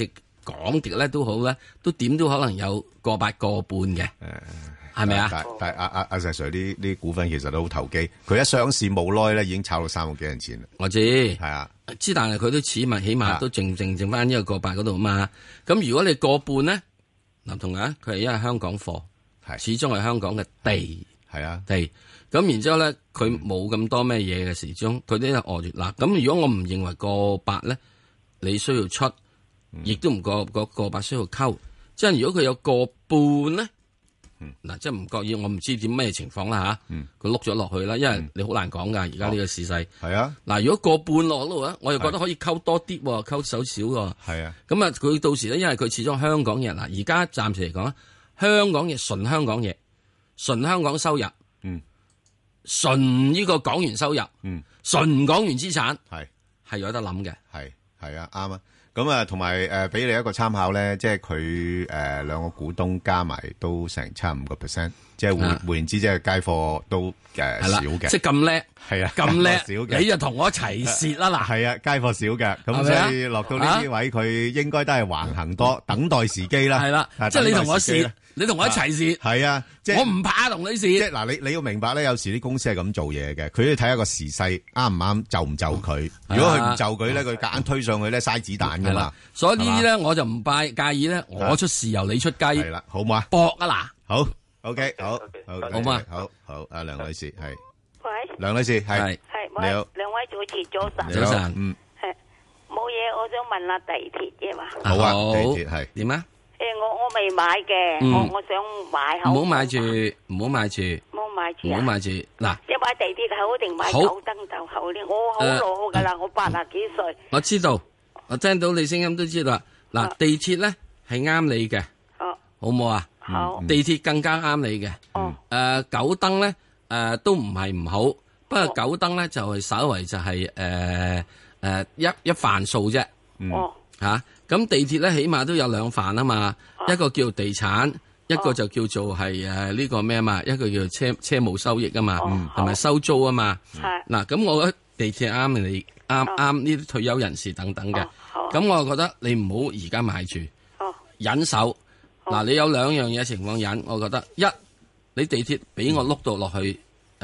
講極咧都好咧，都點都可能有個8個半嘅，係咪啊？ 但係阿石 Sir 啲股份其實都好投機，佢一上市冇耐咧已經炒到3個幾銀錢啦。 我知係啊，知但係佢都起碼都剩翻一個8嗰度啊嘛。咁如果你個半咧，嗱同啊，佢係因為香港貨，始終係香港嘅地，係啊地。咁然之後咧，佢冇咁多咩嘢嘅時鐘，佢都係餓住嗱。咁如果我唔認為個8咧，你需要出，亦都唔個8需要溝。即係如果佢有個半咧，嗱即係唔覺意，我唔知點咩情況啦吓。佢碌咗落去啦，因為你好難講噶，而家呢個時勢。係啊。嗱，如果個半落度咧，我又覺得可以溝多啲，溝少少喎。係啊。咁啊，佢到時咧，因為佢始終香港嘢嗱，而家暫時嚟講，香港嘢純香港嘢，純香港收入。純呢個港元收入，純港元資產，係有得諗嘅， 係啊，啱啊。咁啊，同埋俾你一個參考咧，即係佢2個股東加埋都成5%，即係換言之，即係街貨都少嘅， 即係咁叻， 係啊， 咁叻少嘅， 你就同我一齊蝕啦嗱， 係啊，街貨少嘅，咁所以落到呢啲位，佢應該都係橫行多，等待時機啦， 係啦，即係你同我蝕。你同我一齊蝕， 係啊，即係我唔怕同你蝕。 即係嗱，你要明白咧，有時啲公司係咁做嘢嘅，佢要睇下個時勢啱唔啱，就唔就佢。如果佢唔就佢咧，佢夾硬推上去咧，嘥子彈噶嘛。 所以呢啲咧，我就唔介意咧，我出豉油你出雞， 係啦，好嘛？ 搏啊嗱， 好 OK，好嘛， 好，阿梁女士係， 喂， 梁女士係，你好， 兩位主持早晨， 早晨， 冇嘢，我想問下地鐵嘅嘛。 好啊，地鐵係點啊？ 我未買嘅，我想買好。 唔好買住，唔好買住， 唔好買住， 唔好買住。嗱， 一買地鐵好定買九燈就好咧？我好老噶啦，我80幾歲。 我知道，我聽到你聲音都知道啦。嗱，地鐵咧係啱你嘅，好唔好啊？ 好。 地鐵更加啱你嘅。九燈咧都唔係唔好，不過九燈咧就係稍為就係一範數啫。吓。咁地鐵咧起碼都有2範啊嘛，一個叫地產，一個就叫做係呢個咩啊嘛，一個叫車務收益啊嘛，同埋收租啊嘛。嗱，咁我覺得地鐵啱你啱呢啲退休人士等等嘅。咁我覺得你唔好而家買住，忍手。嗱，你有2樣嘢情況忍，我覺得一，你地鐵俾我碌到落去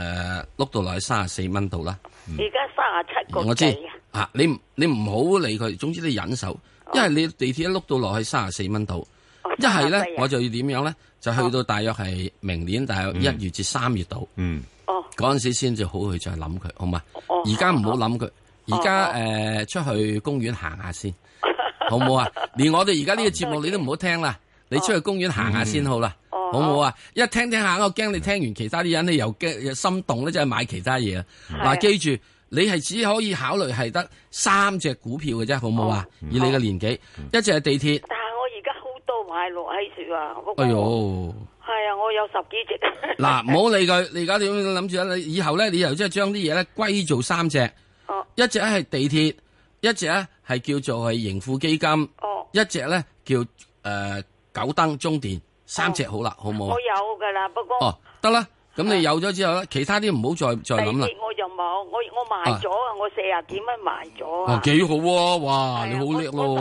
34蚊度啦。 而家37個幾。 我知啊，你唔好理佢，總之你忍手。因為你地鐵一碌到落去34蚊度，一係咧我就要點樣咧？就去到大約係明年大約1月至3月度，嗰陣時先至好去再諗佢，好嘛？而家唔好諗佢，而家出去公園行下先，好唔好啊？連我哋而家呢個節目你都唔好聽啦，你出去公園行下先好啦，好唔好啊？一聽下，我驚你聽完其他啲人，你又驚又心動咧，就係買其他嘢啊！嗱，記住。你係只可以考慮係得3隻股票嘅啫，好唔好啊？以你嘅年紀，一隻係地鐵。 但係我而家好多買落喺樹啊！ 哎呦， 係啊，我有10幾隻。 嗱，唔好理佢，你而家點諗住咧？你以後咧，你又即係將啲嘢咧歸做3隻。一隻係地鐵，一隻咧係叫做係盈富基金，一隻咧叫九燈中電，3隻好啦，好唔好啊？ 我有噶啦，不過得啦。咁你有咗之後咧，其他啲唔好再諗啦。 地鐵我就冇，我賣咗啊！我40幾蚊賣咗啊！ 幾好喎！哇，你好叻咯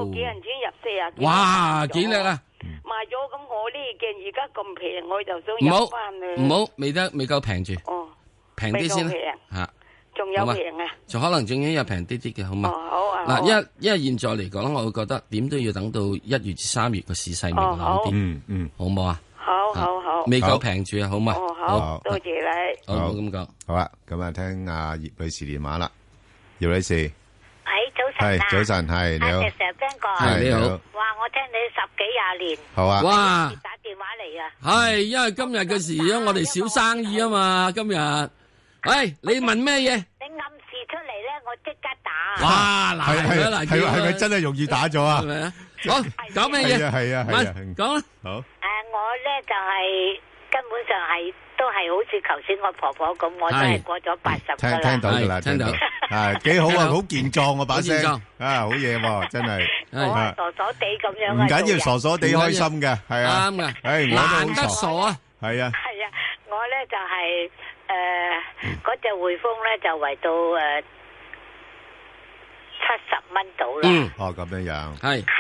哇，幾叻啊！ 賣咗咁，我呢件而家咁平，我就想入翻去。 唔好，未夠平住。平啲先啦。吓， 仲有平啊？ 就可能仲有平啲啲嘅，好嘛？ 好啊。 嗱，因為現在嚟講，我會覺得點都要等到1月至3月個市勢明朗啲。好唔好啊？ 好， 未夠平住啊，好嘛？ 好，多謝你。 好咁講， 好啦，咁啊，聽阿葉女士電話啦。葉女士， 早晨啊， 早晨係你好， 石 Ben 哥， 係你好。 哇，我聽你10幾20年， 好啊。 哇， 打電話嚟啊。 係，因為今日嘅時我哋小生意啊嘛，今日。喂，你問咩嘢？ 你暗示出嚟咧，我即刻打。 哇，嗱， 係咪真係容易打咗啊？ 係咪啊？好，講咩嘢？ 係啊， 講啦。 好。 我咧就係根本上係都係好似頭先我婆婆咁，我都係過咗80噶啦。 聽到噶啦，聽到。係幾好啊，好健壯啊把聲。啊，好嘢喎，真係。 我傻傻地咁樣啊。 唔緊要，傻傻地開心嘅，係啊。 啱嘅。 誒， 難得傻啊。 係啊。 係啊，我咧就係嗰隻匯豐咧就圍到70蚊到啦。 哦，咁樣樣。 係。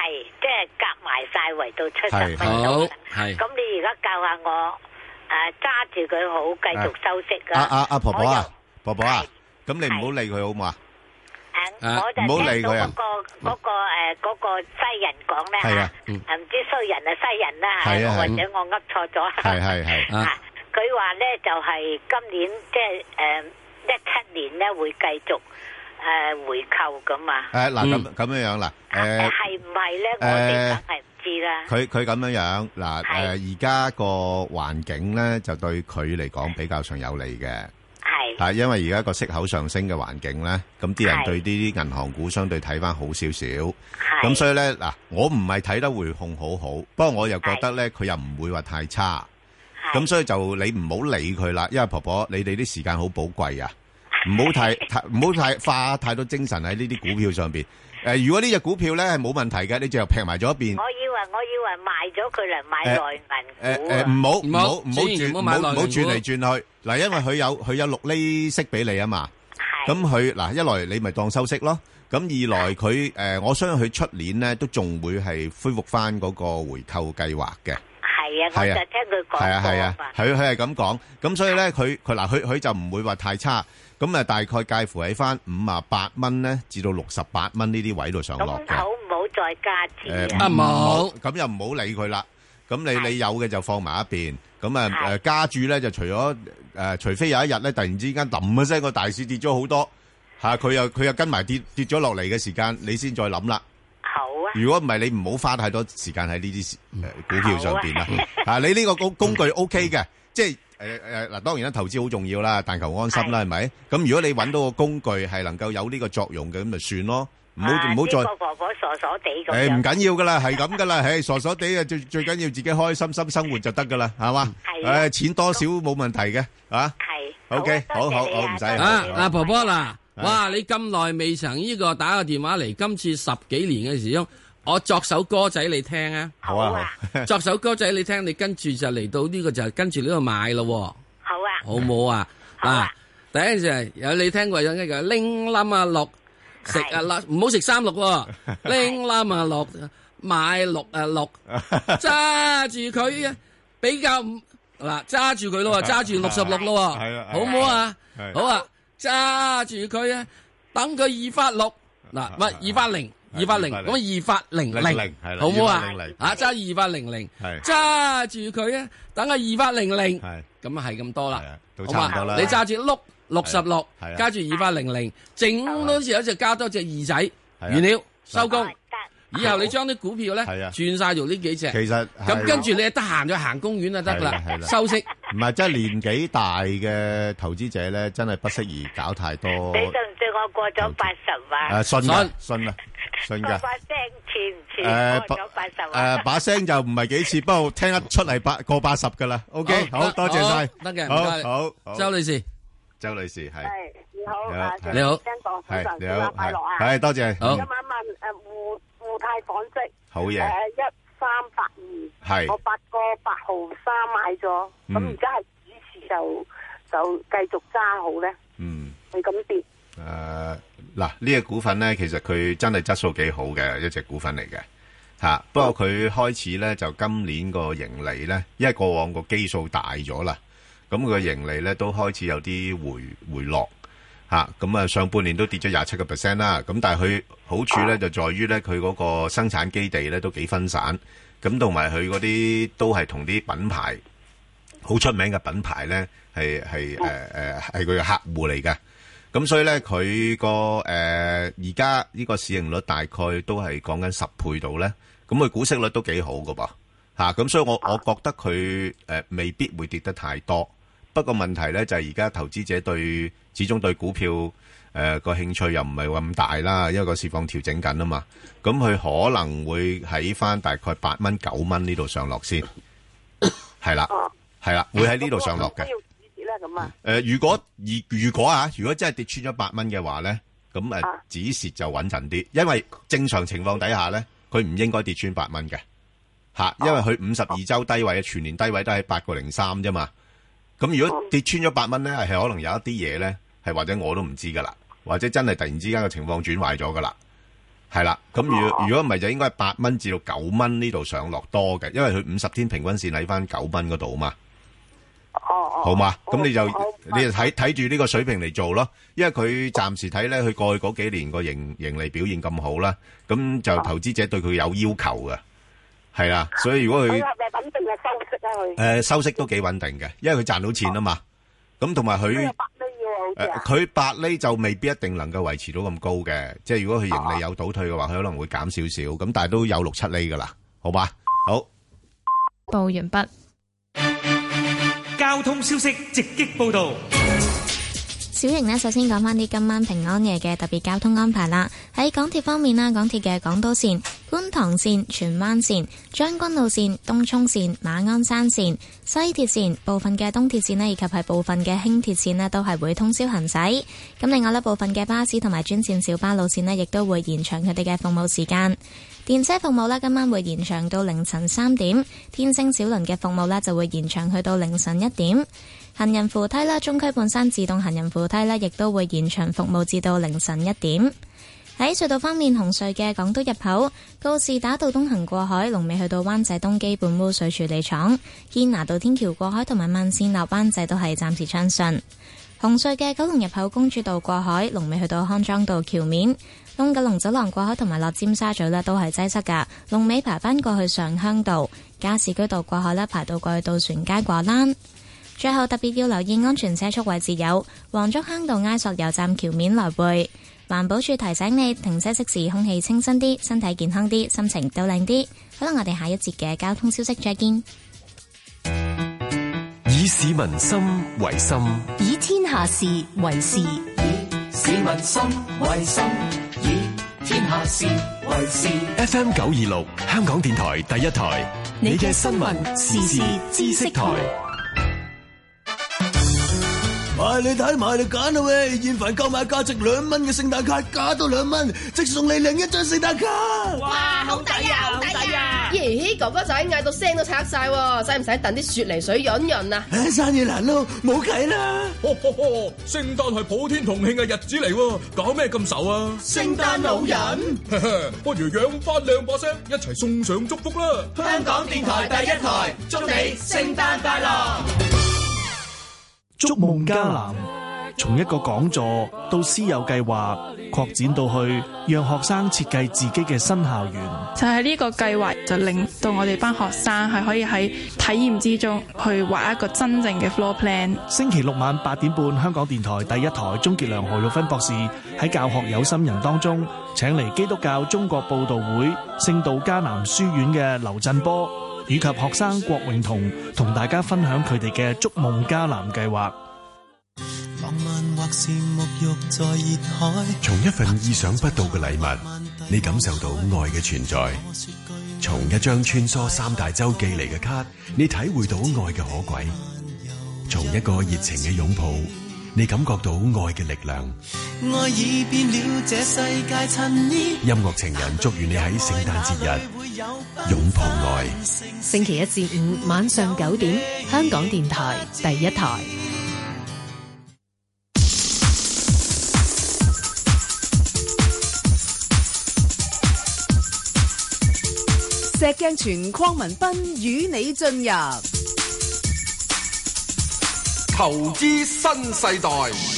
即係夾埋晒圍到70蚊好係。 咁你而家教下我揸住佢好，繼續收息啊！ 阿婆婆啊，婆婆啊，咁你唔好理佢好唔好啊？ 我就聽到嗰個西人講咧唔知衰人啊西人啦嚇，或者我噏錯咗。係佢話咧就係今年即係17年咧會繼續回購咁啊。 嗱咁樣啦。 係唔係咧？我哋梗係唔知啦。 佢咁樣嗱而家個環境咧就對佢嚟講比較上有利嘅。係，因為而家個息口上升嘅環境咧，咁啲人對呢啲銀行股相對睇翻好少少。咁所以咧嗱，我唔係睇得匯控好好，不過我又覺得咧佢又唔會話太差。咁所以就你唔好理佢啦，因為婆婆你哋啲時間好寶貴啊，唔好太花太多精神喺呢啲股票上邊。如果呢隻股票咧係冇問題嘅，你就劈埋咗一邊。 我以為賣咗佢嚟買內銀股。 唔好轉嚟轉去嗱，因為佢有6厘息俾你啊嘛。咁佢嗱一來你咪當收息咯，咁二來佢我相信佢出年咧都仲會係恢復翻嗰個回購計劃嘅。 係啊，我就聽佢講過。 係啊，佢係咁講，咁所以咧佢就唔會話太差。咁啊，大概介乎喺翻58蚊咧，至到68蚊呢啲位度上落嘅。 咁好唔好再加錢？ 唔好，咁又唔好理佢啦。咁你有嘅就放埋一邊。咁加注咧就除非有一日咧突然之間揼一聲個大市跌咗好多嚇，佢又跟埋跌咗落嚟嘅時間，你先再諗啦。 好啊。如果唔係，你唔好花太多時間喺呢啲股票上邊啦。你呢個工具 OK 嘅，即係。嗱，當然啦，投資好重要啦，但求安心啦，係咪？咁如果你揾到個工具係能夠有呢個作用嘅，咁咪算咯，唔好再。 呢個婆婆傻傻地咁樣。 唔緊要噶啦，係咁噶啦，傻傻地啊，最緊要自己開心生活就得噶啦，係嘛？係。錢多少冇問題嘅，啊。係。OK，好，唔使。 嗱，婆婆嗱，哇，你咁耐未曾呢個打個電話嚟，今次10幾年嘅時鐘。我作首歌仔你聽啊！ 好啊， 作首歌仔你聽，你跟住就嚟到呢個就跟住呢個買咯。 好啊， 好唔好啊？嗱，第一就係有你聽過有呢個拎冧啊六食啊六，唔好食36，拎冧啊六買6啊6，揸住佢啊，比較嗱揸住佢咯，揸住66咯，好唔好啊？好啊，揸住佢啊，等佢2發6，嗱唔係2發0。280咁2發00，好唔好啊？揸2發00，揸住佢啊！等佢2發00，咁啊係咁多啦，好嘛？你揸住66，加住2發00，整多時有就加多隻2仔，完了收工。以後你將啲股票咧轉晒做呢幾隻， 其實咁跟住你得閒就行公園就得啦，收息。 唔係，即係年紀大嘅投資者咧，真係不適宜搞太多。 你信唔信我過咗80啊？ 信噶。 把聲似唔似過咗80啊？ 把聲就唔係幾似，不過聽得出嚟過80噶啦。OK，好多謝晒。 得嘅，唔該。 好， 周女士係。 你好， 你好， 係你好，快樂啊！ 係多謝。 好，今晚問互泰紡織好嘢 ，1382， 係我8個8毫3買咗，咁而家係指示就繼續揸好咧？係咁跌。 嗱，呢個股份咧，其實佢真係質素幾好嘅一隻股份嚟嘅吓。不過佢開始咧就今年個盈利咧，因為過往個基數大咗啦，咁佢個盈利咧都開始有啲回落吓。咁啊，上半年都跌咗27%啦。咁但係佢好處咧就在於咧，佢嗰個生產基地咧都幾分散，咁同埋佢嗰啲都係同啲品牌好出名嘅品牌咧，係佢嘅客戶嚟嘅。咁所以咧，佢個而家呢個市盈率大概都係講緊10倍度咧，咁佢股息率都幾好噶噃嚇。咁所以我覺得佢未必會跌得太多。不過問題咧就係而家投資者始終對股票個興趣又唔係咁大啦，因為個市況調整緊啊嘛。咁佢可能會喺翻大概8蚊9蚊呢度上落先，係啦，會喺呢度上落嘅。如果真係跌穿咗8蚊嘅話咧，咁止蝕就穩陣啲，因為正常情況底下咧，佢唔應該跌穿8蚊嘅吓，因為佢52周低位全年低位都係8個03啫嘛。咁如果跌穿咗8蚊咧，係可能有一啲嘢咧，係或者我都唔知噶啦，或者真係突然之間嘅情況轉壞咗噶啦係啦，咁如果唔係就應該係8蚊至到9蚊呢度上落多嘅，因為佢50天平均線喺翻9蚊嗰度嘛。好嘛，咁你就睇住呢個水平嚟做咯，因為佢暫時睇咧，佢過去嗰幾年個盈利表現咁好啦，咁就投資者對佢有要求嘅，係啦，所以如果佢係咪穩定嘅收息啊？佢收息都幾穩定嘅，因為佢賺到錢啊嘛，咁同埋佢佢8厘就未必一定能夠維持到咁高嘅，即係如果佢盈利有倒退嘅話，佢可能會減少少，咁但係都有6-7厘噶啦，好吧？好， 報完畢。 交通消息直擊報道。 小瑩呢，首先講返啲今晚平安夜嘅特別交通安排啦。喺港鐵方面啦，港鐵嘅港島線、觀塘線、荃灣線、將軍澳線、東涌線、馬鞍山線、西鐵線、部分嘅東鐵線呢，以及係部分嘅輕鐵線呢，都係會通宵行駛。咁另外呢，部分嘅巴士同埋專線小巴路線呢，亦都會延長佢哋嘅服務時間。電車服務呢，今晚會延長到凌晨3點，天星小輪嘅服務呢，就會延長去到凌晨1點。行人扶梯啦，中區半山自動行人扶梯呢，亦都會延長服務至到凌晨1點。喺隧道方面，紅隧嘅港島入口告士打道東行過海，龍尾去到灣仔東基本污水處理廠；堅拿道天橋過海同埋慢線落灣仔都係暫時暢順。紅隧嘅九龍入口公主道過海，龍尾去到康莊道橋面；東九龍走廊過海同埋落尖沙咀呢，都係擠塞噶，龍尾排返過去上鄉道；加士居道過海呢，排到過去渡船街過欄。最後特別要留意安全車速位置有黃竹坑道埃索油站橋面來回。環保署提醒你停車熄匙，空氣清新啲，身體健康啲，心情都靚啲。好啦，我哋下一節嘅交通消息再見。 以市民心為心， 以天下事為事，以市民心為心，以天下事為事。 FM 926香港電台第一台，你嘅新聞時事知識台。 你睇埋你揀啦喂！現凡購買價值2蚊嘅聖誕卡，加多2蚊，即送你另一張聖誕卡。 哇，好抵啊，好抵啊！咦，哥哥仔嗌到聲都拆晒，使唔使燉啲雪梨水潤潤啊？ 生意難咯，冇計啦！ 聖誕係普天同慶嘅日子嚟，搞咩咁愁啊？ 聖誕老人， 不如養翻2把聲，一齊送上祝福啦！ 香港電台第一台，祝你聖誕快樂！ 築夢迦南，從一個講座到師友計劃，擴展到去讓學生設計自己嘅新校園。 就係呢個計劃，就令到我哋班學生係可以喺體驗之中去畫一個真正嘅 floor plan。 星期六晚8點半，香港電台第一台，鍾傑良、何玉芬博士喺教學有心人當中，請嚟基督教中國佈道會聖道迦南書院嘅劉振波，以及學生郭永彤同大家分享佢哋嘅築夢迦南計劃。 從一份意想不到嘅禮物，你感受到愛嘅存在；從一張穿梭3大洲寄嚟嘅卡，你體會到愛嘅可貴；從一個熱情嘅擁抱，你感覺到愛嘅力量。 愛已變了這世界襯衣。 音樂情人祝願你喺聖誕節日擁抱愛。 星期1至5晚上9點，香港電台第一台。 石鏡泉鄺民彬與你進入投資新世代。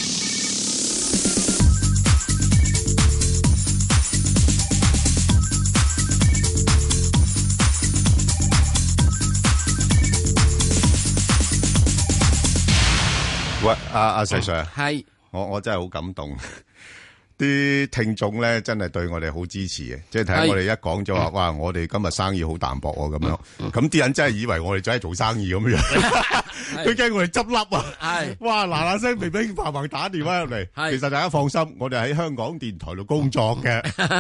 喂，阿石 Sir， 係我真係好感動。啲聽眾咧真係對我哋好支持嘅，即係睇我哋一講咗話，哇！我哋今日生意好淡薄咁樣，咁啲人真係以為我哋真係做生意咁樣，佢驚我哋執笠啊！係，哇！嗱嗱聲乒乒乓乓打電話入嚟，其實大家放心，我哋喺香港電台度工作嘅。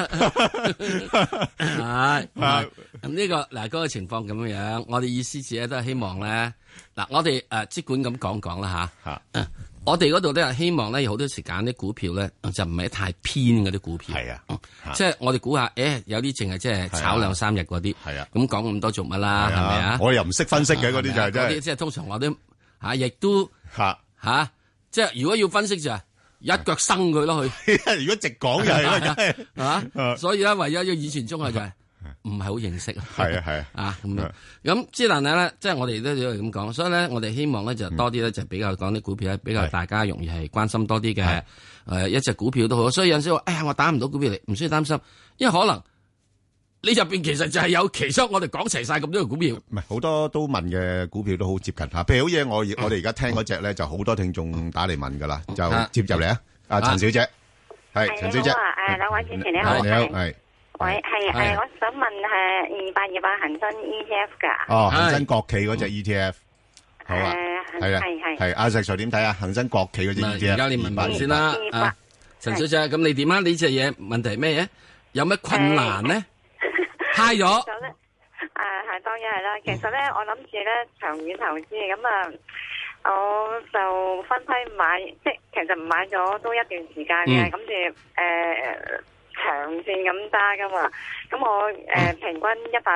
係咁呢個嗱嗰個情況咁樣，我哋意思自己都係希望咧，嗱我哋即管咁講啦吓。我哋嗰度都係希望咧，有好多時揀啲股票咧，就唔係太偏嗰啲股票。係啊，即係我哋估下，有啲淨係即係炒2-3日嗰啲。係啊，咁講咁多做乜啦？係咪啊？ 我又唔識分析嘅嗰啲就係即係通常我都亦都即係如果要分析就係一腳生佢咯佢。 如果直講就係啦， 啊，所以咧，唯一以前中學就係唔係好認識。 係啊， 啊咁樣。咁之但係咧，即係我哋都要咁講，所以咧，我哋希望咧就多啲咧就比較講啲股票咧，比較大家容易係關心多啲嘅。一隻股票都好，所以有陣時話，哎呀，我打唔到股票嚟，唔需要擔心，因為可能你入邊其實就係有其中我哋講齊晒咁多個股票， 唔係好多都問嘅股票都好接近吓，譬如好似我哋而家聽嗰隻咧，就好多聽眾打嚟問噶啦，就接入嚟啊，阿陳小姐，係陳小姐， 兩位主持你好， 你好，係， 喂，係我想問係228恒生 ETF 噶， 哦，恒生國企嗰隻 ETF。好啊，係啦，係阿石 Sir 點睇啊？恒生國企嗰隻 ETF， 而家你問問先啦，陳小姐，咁你點啊？呢隻嘢問題咩嘢？有咩困難咧？嗨咗？ 係當然係啦。其實咧，我諗住咧長遠投資，咁啊，我就分批買，即係其實唔買咗都一段時間嘅，咁住長線咁揸噶嘛。咁我平均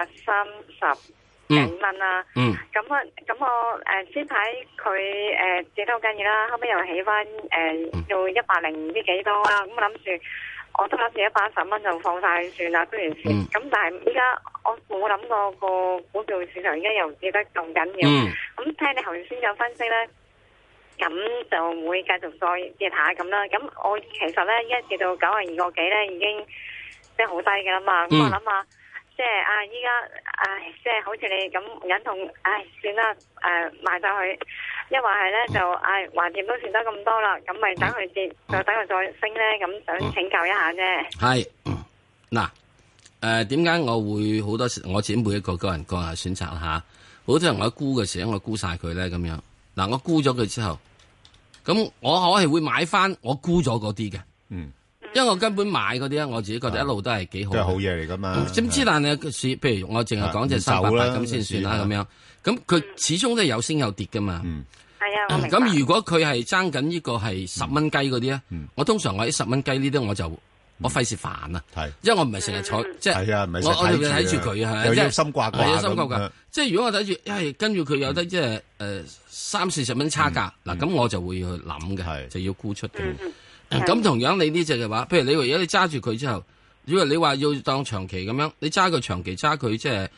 130幾蚊啦，咁我先睇佢跌得好緊要啦，後尾又起翻到100唔知幾多啦，咁我諗住我都諗住110蚊就放晒算啦，雖然先，咁但係依家我冇諗過個股票市場而家又跌得咁緊要，咁聽你頭先有分析咧，咁就會繼續再跌下咁啦，咁我其實咧一跌到92個幾咧已經即係好低嘅啦嘛，咁我諗下。即係依家即係好似你咁忍痛，算啦，賣晒佢。一話係咧就橫掂都算得咁多啦，咁咪等佢跌，就等佢再升咧。咁想請教一下啫。 係嗱，點解我會好多時我自己每一個人個人選擇吓，好多人我沽嘅時候我沽晒佢咧咁樣。嗱，我沽咗佢之後，咁我係會買翻我沽咗嗰啲嘅。因為我根本買嗰啲咧，我自己覺得一路都係幾好， 都係好嘢嚟噶嘛。 點知但係譬如我淨係講隻388咁先算啦，咁樣。咁佢始終都係有升有跌噶嘛。 係啊， 咁如果佢係爭緊呢個係10蚊雞嗰啲咧，我通常我喺10蚊雞呢啲我費事煩啊。因為我唔係成日坐，即係我睇住佢啊， 又要心掛掛， 係心掛掛。即係如果我睇住，跟住佢有得即係30-40蚊差價，嗱咁我就會去諗嘅，就要沽出嘅。咁同樣你呢隻嘅話，譬如你如果你揸住佢之後，如果你話要當長期咁樣，你揸佢長期揸佢即係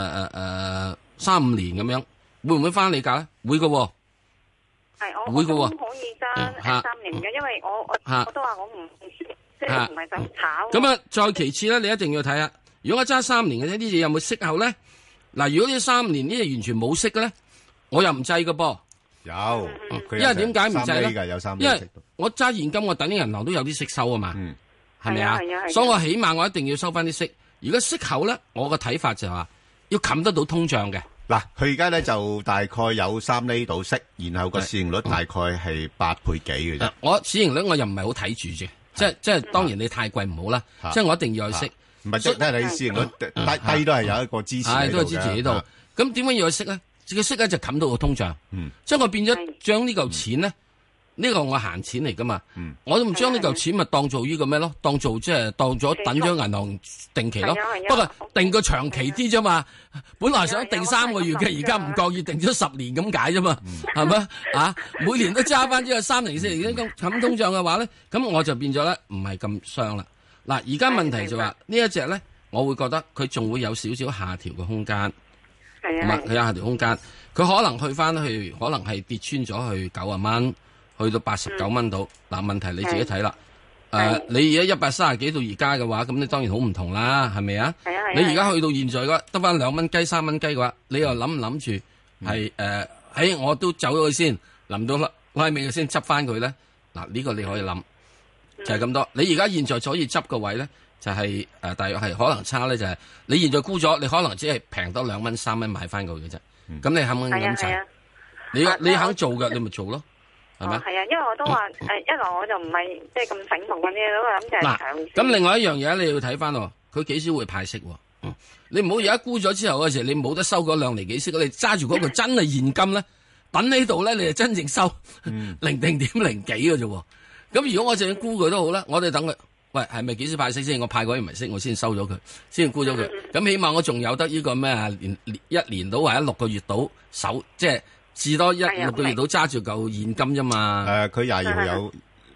3-5年咁樣，會唔會翻你價咧？會嘅喎， 係我都可以揸3年嘅，因為我都話我唔即係唔係想炒。 咁啊，再其次咧，你一定要睇下，如果我揸3年嘅呢隻有冇息口咧？嗱，如果呢3年呢隻完全冇息嘅咧，我又唔制嘅噃。 有， 因為點解唔制咧？ 有3厘， 因為我揸現金，我等啲銀行都有啲息收啊嘛，係咪啊？所以我起碼我一定要收翻啲息。如果息口咧，我個睇法就係話要冚得到通脹嘅。 嗱，佢而家咧就大概有3厘到息，然後個市盈率大概係8倍幾嘅啫。 我市盈率我又唔係好睇住啫，即係當然你太貴唔好啦，即係我一定要有息。 唔係即係你市盈率低都係有一個支持喺度嘅。 都係支持喺度。咁點解要有息咧？個息咧就冚到個通脹，即係我變咗將呢嚿錢咧，呢個我閒錢嚟噶嘛，我都唔將呢嚿錢咪當做呢個咩咯？當做即係當咗等咗銀行定期咯。不過定個長期啲啫嘛，本來想定3個月嘅，而家唔覺意定咗10年咁解啫嘛，係咪啊？每年都揸翻呢個3年4年咁冚通脹嘅話咧，咁我就變咗咧唔係咁傷啦。嗱，而家問題就話呢一隻咧，我會覺得佢仲會有少少下調嘅空間。佢有下調空間，佢可能去翻去，可能係跌穿咗去90蚊，去到89蚊度。嗱，問題你自己睇啦。你而家130幾到而家嘅話，咁你當然好唔同啦，係咪啊？你而家去到現在嘅話，得翻2蚊雞、3蚊雞嘅話，你又諗唔諗住係我都走咗去先，臨到拉尾先執翻佢咧？嗱，呢個你可以諗，就係咁多。你而家現在可以執個位咧？就係大約係可能差咧，就係你現在沽咗，你可能只係平多2蚊3蚊買翻佢嘅啫。咁你肯唔肯咁做？你肯做嘅，你咪做咯，係咪？ 係啊，因為我都話一來我就唔係即係咁醒目嗰啲，都諗就係長線。 咁另外一樣嘢你要睇翻喎，佢幾時會派息喎？你唔好而家沽咗之後嗰時，你冇得收嗰2厘幾息，你揸住嗰個真係現金咧，等喺度咧，你就真正收0.0幾嘅啫。咁如果我淨係沽佢都好啦，我哋等佢。喂，係咪幾時派息先？我派嗰啲唔係息，我先收咗佢，先沽咗佢。咁起碼我仲有得呢個咩啊？1年到或者6個月到手，即係至多6個月到揸住嚿現金啫嘛。 佢22號有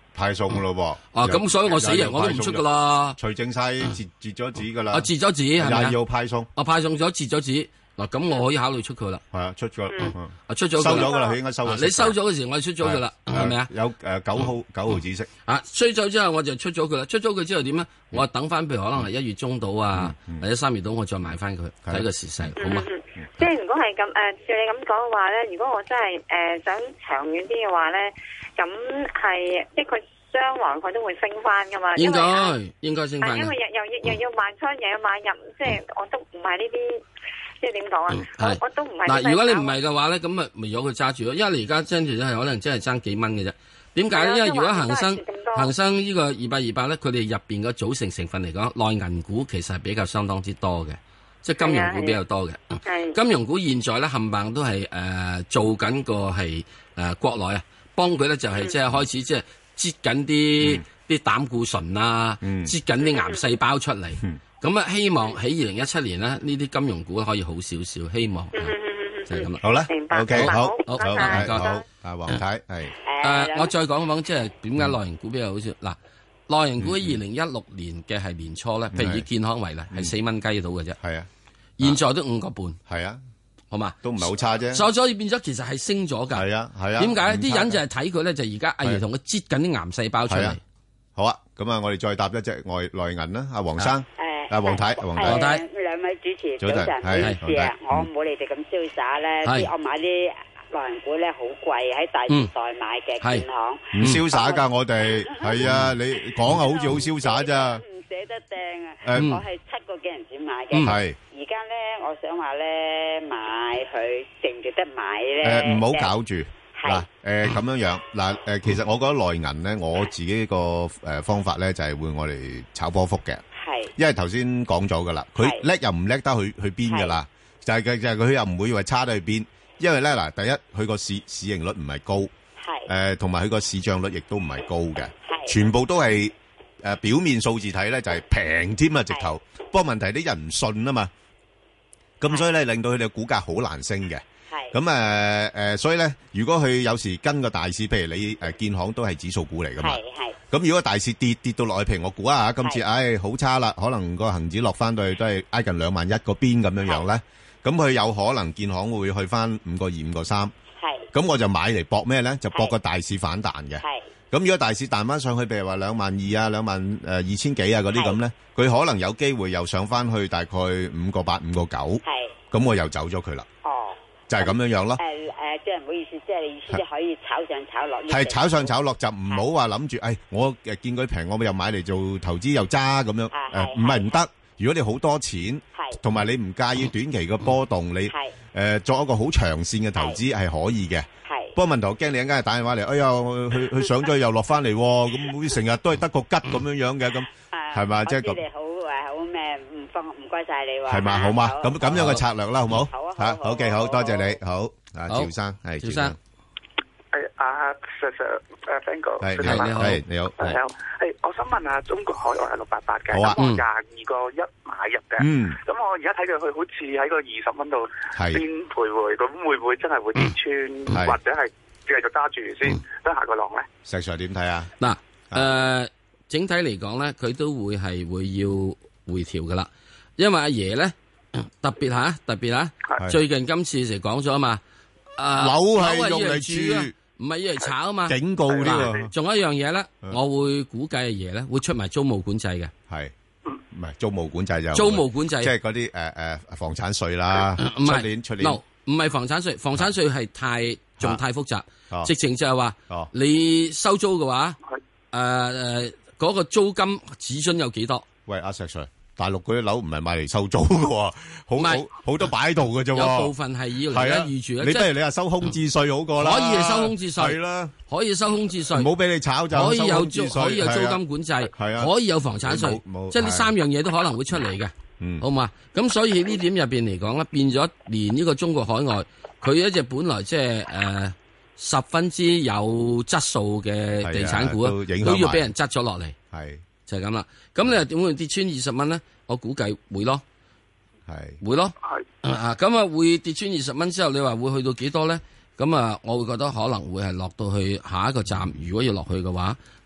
派送噶咯噃。咁所以我死人我都唔出噶啦， 除淨晒截咗紙噶啦。 截咗紙係咪廿2號派送， 派送咗截咗紙。嗱，咁我可以考慮出佢啦。 係啊，出咗， 出咗收咗噶啦，佢應該收咗。 你收咗嘅時，我哋出咗噶啦，係咪啊？ 有9號紫色。 收咗之後，我就出咗佢啦。出咗佢之後點咧？我等翻，譬如可能係1月中到啊，或者3月到，我再買翻佢，睇個時勢，好嘛？ 即係如果係咁照你咁講嘅話咧，如果我真係想長遠啲嘅話咧，咁係即係佢將來佢都會升翻噶嘛？應該升翻。 因為又要賣出，又要買入，即係我都唔係呢啲。即係點講啊？我都唔係嗱，如果你唔係嘅話咧，咁咪由佢揸住咯。因為你而家爭住咧，係可能真係爭幾蚊嘅啫。點解咧？因為如果恒生呢個200咧，佢哋入邊嘅組成份嚟講，內銀股其實係比較相當之多嘅，即係金融股比較多嘅。金融股現在咧冚唪唥都係做緊個係國內啊，幫佢咧就係即係開始即係擠緊啲膽固醇啊，擠緊啲癌細胞出嚟。咁啊，希望喺2017年咧，呢啲金融股可以好少少，希望就係咁啦。 好啦，OK，好， 好， 黃太係我再講講，即係點解內銀股比較好少？嗱，內銀股喺2016年嘅係年初咧，譬如以健康為例，係4蚊雞到嘅啫。 係啊， 現在都5個半。 係啊， 好嘛， 都唔係好差啫。 所以變咗，其實係升咗㗎。 係啊， 點解啲人就係睇佢咧？就而家阿爺同佢擠緊啲癌細胞出嚟。 好啊，咁啊，我哋再搭一隻內銀啦，阿黃生。黃太， 兩位主持早晨，唔好意思啊，我冇你哋咁瀟灑咧，我買啲內銀股咧好貴，喺大時代買嘅建行， 唔瀟灑噶，我哋係啊，你講啊，好似好瀟灑咋， 唔捨得掟啊，我係7個幾銀錢買嘅， 係， 而家咧，我想話咧買佢值唔值得買咧？ 唔好搞住。嗱，咁樣嗱，其實我覺得內銀咧，我自己個方法咧就係會我嚟炒波幅嘅。因為頭先講咗噶啦，佢叻又唔叻得去邊噶啦，就係佢又唔會話差得去邊，因為咧嗱，第一佢個市盈率唔係高，同埋佢個市賬率亦都唔係高嘅，全部都係表面數字睇咧就係平添啊直頭，不過問題啲人唔信啊嘛，咁所以咧令到佢哋嘅股價好難升嘅，咁所以咧如果佢有時跟個大市，譬如你建行都係指數股嚟噶嘛。咁如果大市跌到落去，譬如我估啊，今次好差啦，可能個恒指落翻到去都係挨近21000嗰邊咁樣樣咧，咁佢有可能建行會去翻5個2、5個3，咁我就買嚟搏咩咧？就搏個大市反彈嘅。咁如果大市彈翻上去，譬如話22000啊、22000幾啊嗰啲咁咧，佢可能有機會又上翻去大概5個8、5個9，咁我又走咗佢啦。就係咁樣樣咯。 即係唔好意思，即係你意思即係可以炒上炒落。 係炒上炒落就唔好話諗住，我見佢平，我又買嚟做投資又揸咁樣。唔係唔得。如果你好多錢，同埋你唔介意短期嘅波動，你作一個好長線嘅投資係可以嘅。不過問題我驚你一陣間打電話嚟，哎呀，佢上咗又落翻嚟，咁好似成日都係得個吉咁樣樣嘅咁，係嘛？即係咁。 好咩？唔該晒你喎。 係嘛？好嘛？咁樣嘅策略啦，好唔好？好，好嘅，好多謝你，好。趙生係趙生， 阿 Sir，Thank you， 係你好， 我想問下中國海外係688嘅， 好啊， 咁我22個1買入嘅，咁我而家睇佢好似喺個20蚊度邊徘徊，咁會唔會真係會跌穿，或者係繼續揸住先，等下個浪咧？ 石 Sir 點睇啊？ 嗱，整體嚟講咧，佢都會要回調噶啦，因為阿爺咧特別吓，最近今次就講咗啊嘛。 樓係用嚟住， 唔係要嚟炒啊嘛！ 警告啲喎。 仲有一樣嘢咧，我會估計阿爺咧會出埋租務管制嘅。 係，唔係租務管制就租務管制， 即係嗰啲房產稅啦。 唔係出年， 唔係房產稅，房產稅係太複雜。直情就係話，你收租嘅話，嗰個租金指準有幾多？ 喂，阿石 Sir。大陸嗰啲樓唔係買嚟收租嘅，好多擺喺度嘅啫。 有部分係要嚟預住。 你不如你話收空置稅好過啦。 可以係收空置稅， 係啦， 可以收空置稅。 唔好俾你炒就可以有租金管制，可以有房產稅，即係呢3樣嘢都可能會出嚟嘅。好嘛？咁所以呢點入邊嚟講咧，變咗連呢個中國海外，佢一隻本來即係10分之有質素嘅地產股都要俾人執咗落嚟。 係。 就係咁啦，咁你又點會跌穿20蚊咧？我估計會咯，會咯，咁啊會跌穿20蚊之後，你話會去到幾多咧？咁啊，我會覺得可能會係落到去下一個站，如果要落去嘅話，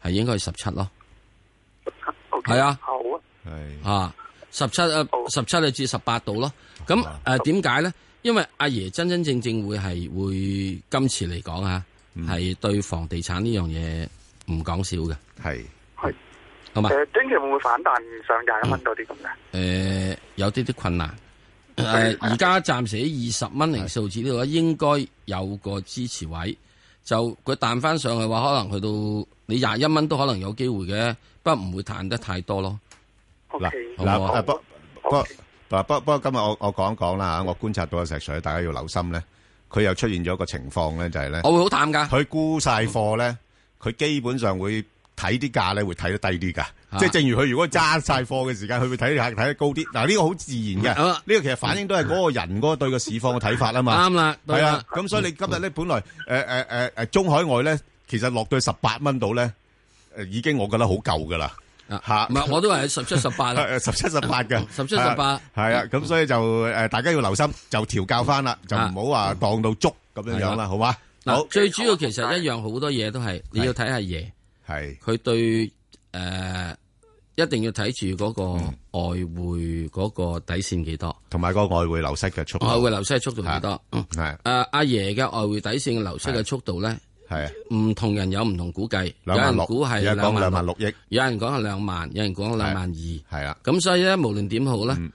係應該係17咯。係啊， 好啊， 係啊，17至18度咯。咁點解咧？因為阿爺真正會今次嚟講啊，係對房地產呢樣嘢唔講少嘅。係，好嘛？ 短期會唔會反彈上21蚊多啲咁嘅？ 有啲困難。而家暫時喺20蚊零數字呢度應該有個支持位，就佢彈翻上去嘅話，可能去到你21蚊都可能有機會嘅，不過唔會彈得太多咯。 嗱，不過今日我講一講啦嚇，我觀察到嘅石水，大家要留心咧，佢又出現咗一個情況咧，就係咧， 我會好淡㗎。 佢沽晒貨咧，佢基本上會睇啲價咧，會睇得低啲㗎。即係正如佢如果揸晒貨嘅時間，佢會睇得高啲。嗱，呢個好自然嘅，呢個其實反映都係嗰個人嗰個對個市況嘅睇法啊嘛。啱啦，係啊。咁所以你今日咧，本來中海外咧，其實落到18蚊度咧，已經我覺得好夠㗎啦。嚇，唔係我都係17、18啦，17、18嘅，17、18係啊。咁所以就大家要留心，就調教翻啦，就唔好話當到足咁樣啦，好嘛？ 嗱，最主要其實一樣好多嘢都係你要睇下爺，係佢對一定要睇住嗰個外匯嗰個底線幾多， 同埋個外匯流失嘅速度。 外匯流失嘅速度幾多？係阿爺嘅外匯底線嘅流失嘅速度咧，係唔同人有唔同估計。有人估係2萬6億，有人講係2萬，有人講2萬2。係啊，咁所以咧，無論點好咧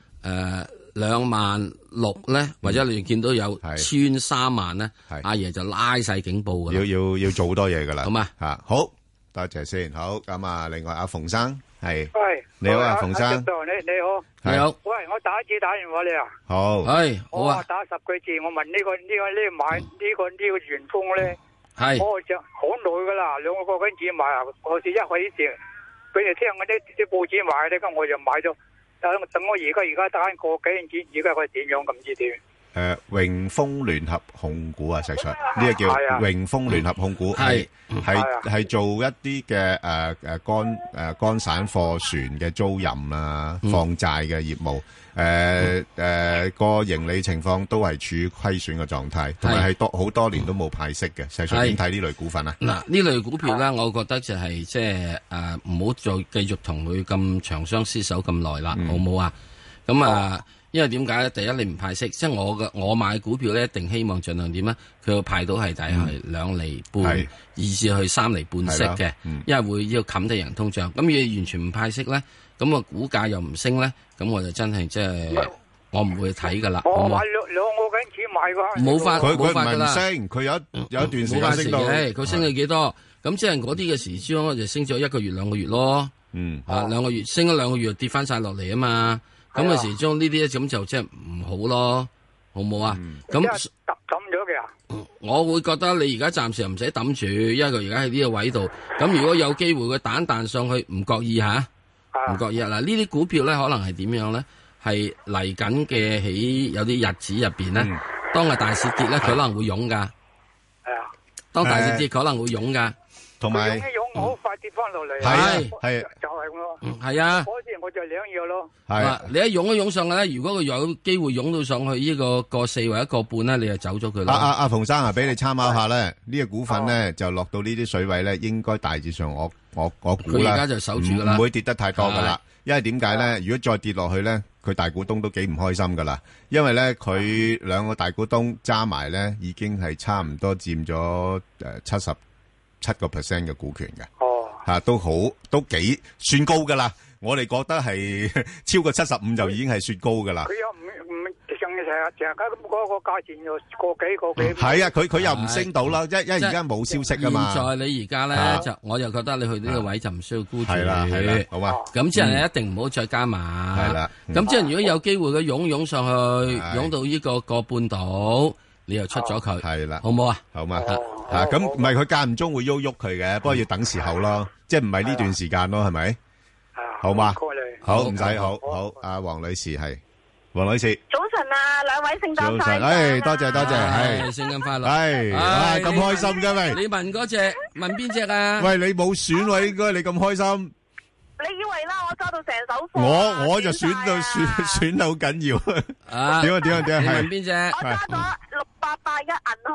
，2萬6咧，或者你見到有穿3萬咧，阿爺就拉晒警報噶啦。 要做好多嘢噶啦。 好嘛嚇，好多謝先。好咁啊，另外阿馮生。係，你好啊，馮生。 你好， 你好。 喂，我第一次打電話你啊。 好。係，好啊。 我打10句字，我問呢個買呢個元豐咧， 係， 我就好耐噶啦，2個幾錢買啊？我是一開始俾你聽嗰啲報紙買咧，咁我就買咗。等我而家打個幾錢，而家佢點樣咁知點？ 榮豐聯合控股啊，石 Sir，呢個叫榮豐聯合控股，係做一啲嘅乾散貨船嘅租賃啊、放債嘅業務，個盈利情況都係處於虧損嘅狀態，同埋係好多年都冇派息嘅。石 Sir 點睇呢類股份啊？嗱，呢類股票咧，我覺得就係即係唔好再繼續同佢咁長相廝守咁耐啦，好唔好啊？咁啊。因為點解咧？第一，你唔派息，即係我買股票咧，一定希望盡量點咧？佢要派到係大概2厘半，以至去3厘半息嘅，因為會要冚低人通脹。咁如果完全唔派息咧，咁個股價又唔升咧，咁我就真係即係我唔會睇噶啦。 我買2個幾錢買噶， 冇法噶啦。 佢唔升，佢有一段時間升到， 佢升咗幾多？咁即係嗰啲嘅時鐘，我就升咗1個月、2個月咯。2個月升咗2個月，跌翻晒落嚟啊嘛。咁嘅時鐘呢啲咧，咁就即係唔好咯，好唔好啊？咁抌咗嘅。 我會覺得你而家暫時唔使抌住，因為佢而家喺呢個位度。咁如果有機會佢彈上去，唔覺意吓，唔覺意啊！嗱，呢啲股票咧，可能係點樣咧？係嚟緊嘅喺有啲日子入邊咧，當個大市跌咧，佢可能會湧噶。係啊，當大市跌，可能會湧噶。 同埋湧好快跌翻落嚟， 係就係咯， 係啊， 嗰時我就兩樣咯。 係你一湧上去咧，如果佢有機會湧到上去呢個4或1個半咧，你就走咗佢啦。 阿馮生啊，俾你參考下咧，呢個股份咧就落到呢啲水位咧，應該大致上我估啦， 佢而家就守住噶啦， 唔會跌得太多噶啦。因為點解咧？如果再跌落去咧，佢大股東都幾唔開心噶啦。因為咧，佢2個大股東揸埋咧，已經係差唔多佔咗77% 嘅股權嘅，都幾算高噶啦。我哋覺得係超過75就已經係算高噶啦。 佢又唔成日咁嗰個價錢又個幾。 係啊，佢又唔升到啦，因為而家冇消息噶嘛。 現在你而家咧我就覺得你去呢個位就唔需要沽住。係啦， 好嘛。 咁即係你一定唔好再加碼。係啦。咁即係如果有機會佢湧上去，湧到呢個半島，你又出咗佢。係啦，好唔好啊？ 好嘛。咁唔係佢間唔中會喐佢嘅，不過要等時候咯，即係唔係呢段時間咯，係咪？好嘛，好唔使好，阿黃女士係黃女士。 早晨啊，兩位聖誕快樂。 早晨，多謝，係聖誕快樂。 係，咁開心嘅喂。 你問嗰隻，問邊隻啊？ 喂，你冇選喎，應該你咁開心。 你以為啦，我揸到成手貨。 我就選得好緊要。 啊， 點啊？ 你問邊隻？ 我揸咗6881銀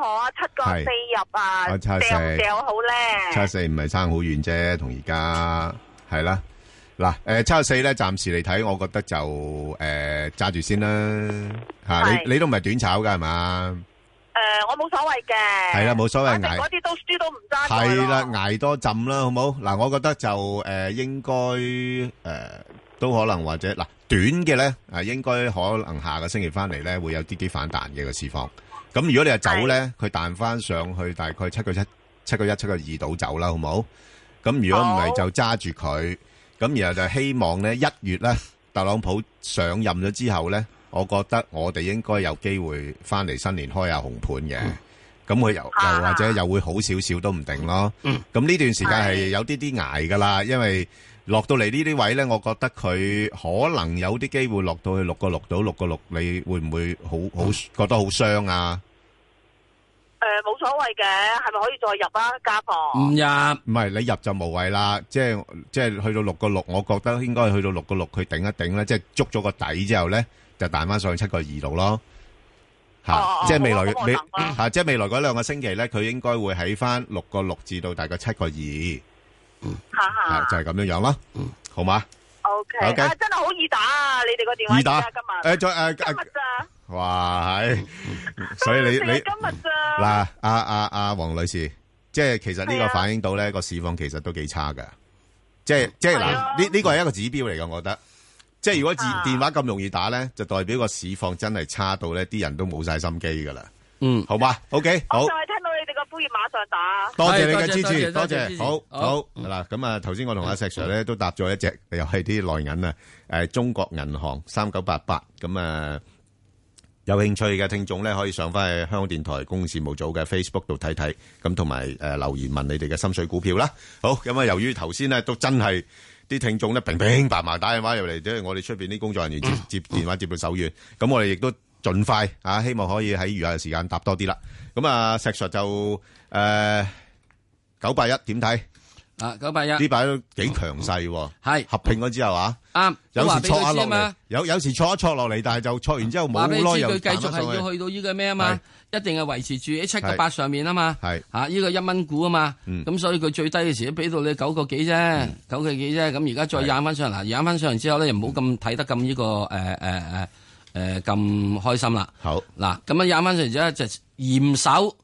河啊，7個4入啊，掉唔掉好咧 ？74唔係差好遠啫，同而家係啦。嗱，74咧，暫時嚟睇，我覺得就揸住先啦嚇。你都唔係短炒㗎係嘛？ 我冇所謂嘅。 係啦，冇所謂捱。 嗰啲都輸都唔揸。 係啦，捱多陣啦，好冇？嗱，我覺得就應該都可能或者嗱短嘅咧應該可能下個星期翻嚟咧會有啲反彈嘅個市況。咁如果你係走咧，佢彈翻上去大概7個1、7個2度走啦，好冇？咁如果唔係就揸住佢。咁然後就希望咧1月咧特朗普上任咗之後咧，我覺得我哋應該有機會翻嚟新年開下紅盤嘅。咁佢又或者又會好少少都唔定咯。咁呢段時間係有啲捱噶啦，因為落到嚟呢啲位咧，我覺得佢可能有啲機會落到去6個6到6個6，你會唔會好覺得好傷啊？ 冇所謂嘅，係咪可以再入啊？加房唔入， 唔係你入就無謂啦。即係去到6個6，我覺得應該去到6個6，佢頂一頂咧，即係捉咗個底之後咧，就彈翻上去7個2度咯。即係未來即係未來嗰2個星期咧，佢應該會喺翻6個6至到大概7個2。就係咁樣樣咯。好嘛 ？OK，真係好易打啊！你哋個電話易打今日今日咋？哇，係，所以你今日咋？ 嗱，黃女士，即係其實呢個反映到咧個市況其實都幾差噶，即係嗱，呢個係一個指標嚟噶，我覺得，即係如果電話咁容易打咧，就代表個市況真係差到咧，啲人都冇晒心機噶啦。好嘛 ，OK， 好。 我就係聽到你哋個呼籲，馬上打。 多謝你嘅支持，多謝，好嗱，咁啊，頭先我同阿石 Sir 咧都搭咗一隻，又係啲內銀啊，中國銀行3988，咁啊。有興趣嘅聽眾咧，可以上翻去香港電台公共事務組嘅 Facebook 度睇睇，咁同埋留言問你哋嘅心水股票啦。好，咁啊，由於頭先咧都真係啲聽眾咧平平白白打電話入嚟，即係我哋出邊啲工作人員接電話接到手軟，咁我哋亦都盡快希望可以喺餘下嘅時間答多啲啦。咁啊，石 Sir 就981點睇？ 981呢排都幾強勢喎，係合併咗之後啱，有時挫下落嚟，有時挫一挫落嚟，但係就挫完之後冇耐又佢繼續係要去到呢個咩啊嘛，一定係維持住喺7個8上面啊嘛，係呢個1蚊股啊嘛，咁所以佢最低嘅時都俾到你9個幾啫，9個幾啫，咁而家再引翻上嚟，引翻上嚟之後咧，又唔好咁睇得咁呢個咁開心啦。好嗱，咁樣引翻上嚟之後就嚴守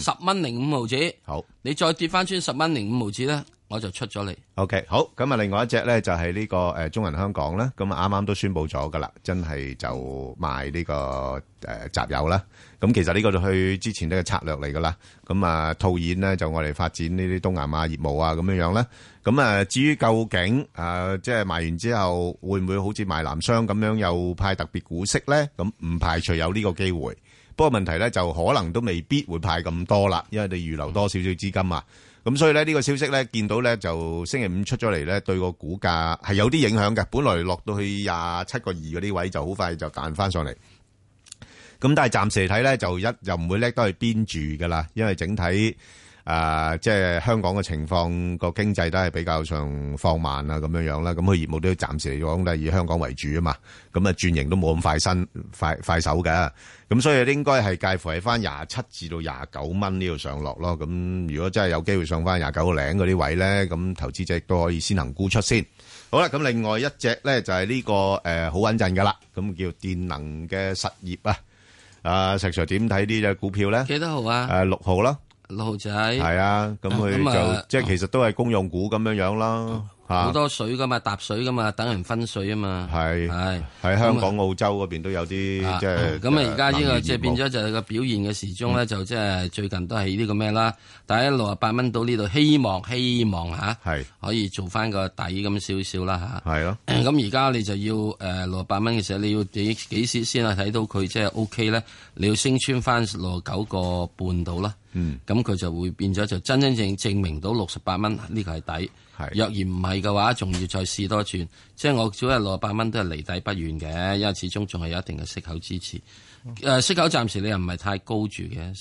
10.05毫，好，你再跌翻穿10.05毫咧。我就出咗嚟。 OK， 好，咁啊，另外一隻咧就係呢個中銀香港啦，咁啊啱啱都宣布咗噶啦，真係就賣呢個集友啦。咁其實呢個就去之前呢個策略嚟噶啦。咁啊套現咧就我哋發展呢啲東南亞業務啊咁樣樣咧。咁啊至於究竟即係賣完之後會唔會好似賣南商咁樣又派特別股息咧？咁唔排除有呢個機會。不過問題咧就可能都未必會派咁多啦，因為你預留多少少資金啊。咁所以咧呢個消息咧見到咧就星期五出咗嚟咧，對個股價係有啲影響嘅。本來落到去27個2嗰啲位就好快就彈翻上嚟。咁但係暫時嚟睇咧就又唔會叻得去邊住噶啦，因為整體即係香港嘅情況個經濟都係比較上放慢啊咁樣樣啦。咁佢業務都暫時嚟講都係以香港為主啊嘛。咁啊轉型都冇咁快手嘅。咁所以應該係介乎喺翻27至到29蚊呢度上落咯。咁如果真係有機會上翻29個零嗰啲位咧，咁投資者都可以先行沽出先。好啦，咁另外一隻咧就係呢個好穩陣噶啦，咁叫電能嘅實業啊。石 Sir 點睇呢隻股票咧？ 幾多號啊 ？6號啦 ，6號仔。係啊，咁佢就即係其實都係公用股咁樣樣啦。 好多水噶嘛，搭水噶嘛，等人分水啊嘛。係喺香港、澳洲嗰邊都有啲即係。 咁啊，而家呢個即係變咗就係個表現嘅時鐘咧，就即係最近都係呢個咩啦。但係68蚊到呢度，希望吓，可以做翻個底咁少少啦吓。係咯。咁而家你就要68蚊嘅時候，你要幾時先係睇到佢即係 OK 咧？你要升穿翻69個半到啦。咁佢就會變咗就真正證明到68蚊呢個係底。若然唔係嘅話，仲要再試多轉。即係我早日68蚊都係離底不遠嘅，因為始終仲係有一定嘅息口支持。息口暫時你又唔係太高住嘅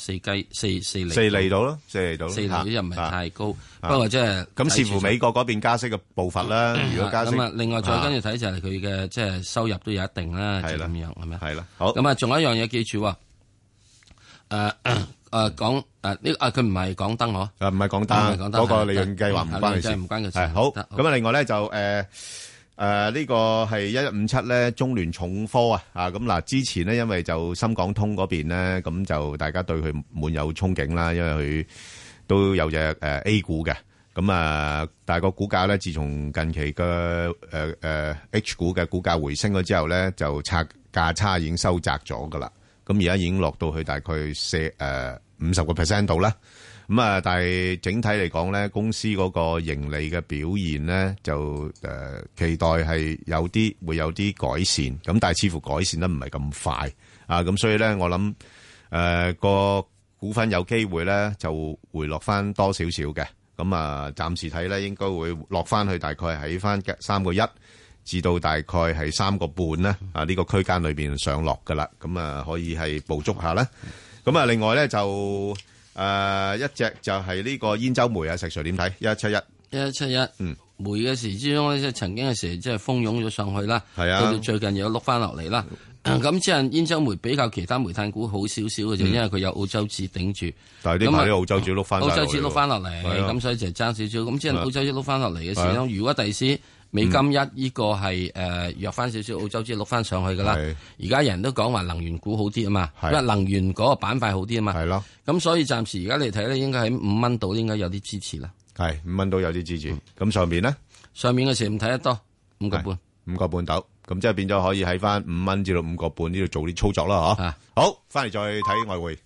，4厘到咯，4厘到 ，4厘又唔係太高。不過即係咁視乎美國嗰邊加息嘅步伐啦。如果加息咁啊，另外再跟住睇就係佢嘅即係收入都有一定啦，就咁樣係咪？ 係啦，好。 咁啊，仲有一樣嘢記住喎。 講佢唔係港燈嗬？ 唔係港燈，嗰個利潤計劃唔關佢事， 唔關佢事。 係好咁啊！另外咧就呢個係1157咧，中聯重科啊咁嗱，之前咧因為就深港通嗰邊咧，咁就大家對佢滿有憧憬啦，因為佢都有隻A 股嘅，咁但係個股價咧，自從近期嘅H 股嘅股價回升咗之後咧，就價差已經收窄咗噶啦，咁而家已經落到去大概50% 度啦。咁但係整體嚟講咧，公司嗰個盈利嘅表現咧，就期待係會有啲改善，咁但係似乎改善得唔係咁快啊，咁所以咧，我諗個股份有機會咧就回落翻多少少嘅，咁暫時睇咧應該會落翻去大概喺翻3.1至到大概係3.5咧呢個區間裏邊上落噶啦，咁可以係捕捉下啦。咁另外咧就一隻就係呢個兗州煤啊，石 Sir 點睇？1171， 煤嘅時之中咧，即係曾經嘅時即係蜂擁咗上去啦， 係啊， 到到最近又碌翻落嚟啦。咁即係兗州煤比較其他煤炭股好少少嘅啫，因為佢有澳洲紙頂住。 但係呢排啲澳洲紙碌翻， 澳洲紙碌翻落嚟，咁所以就爭少少。咁即係澳洲紙碌翻落嚟嘅時候，如果第時美金呢個係弱翻少少，澳洲紙碌翻上去噶啦。而家人都講話能源股好啲啊嘛，因為能源嗰個板塊好啲啊嘛。係咯。咁所以暫時而家嚟睇咧，應該喺5蚊度應該有啲支持啦。係5蚊度有啲支持。咁上面咧？上面嘅時唔睇得多，5.5度。咁即係變咗可以喺翻5蚊至到5.5呢度做啲操作啦，嗬。好，翻嚟再睇外匯。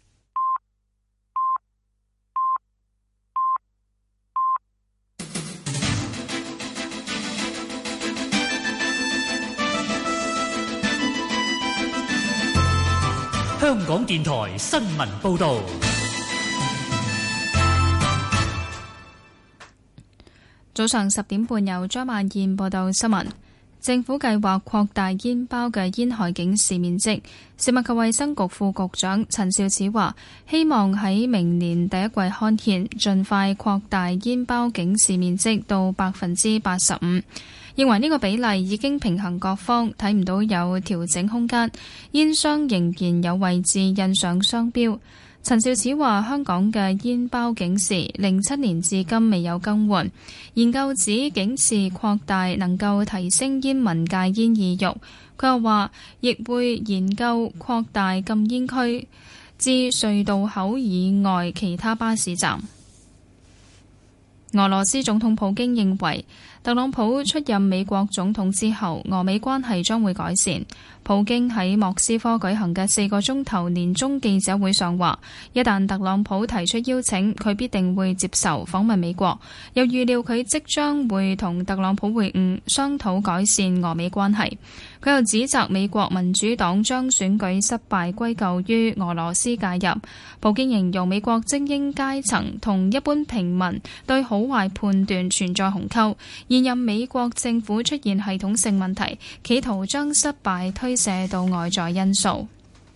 香港電台新聞報道。 早上10點半，由張曼燕報道新聞。政府計劃擴大煙包嘅煙害警示面積。食物及衛生局副局長陳肇始話，希望喺明年第一季刊憲，盡快擴大煙包警示面積到85%。認為呢個比例已經平衡各方，睇唔到有調整空間。煙商仍然有位置印上商標。陳肇始話：香港嘅煙包警示07年至今未有更換，研究指警示擴大能夠提升煙民戒煙意欲。佢又話，亦會研究擴大禁煙區至隧道口以外其他巴士站。俄羅斯總統普京認為，特朗普出任美國總統之後，俄美關係將會改善。普京喺莫斯科舉行嘅4個鐘頭年終記者會上話，一旦特朗普提出邀請，佢必定會接受訪問美國。又預料佢即將會同特朗普會晤，商討改善俄美關係。佢又指責美國民主黨將選舉失敗歸咎於俄羅斯介入。普京形容美國精英階層同一般平民對好壞判斷存在鴻溝，現任美國政府出現系統性問題，企圖將失敗推卸到外在因素。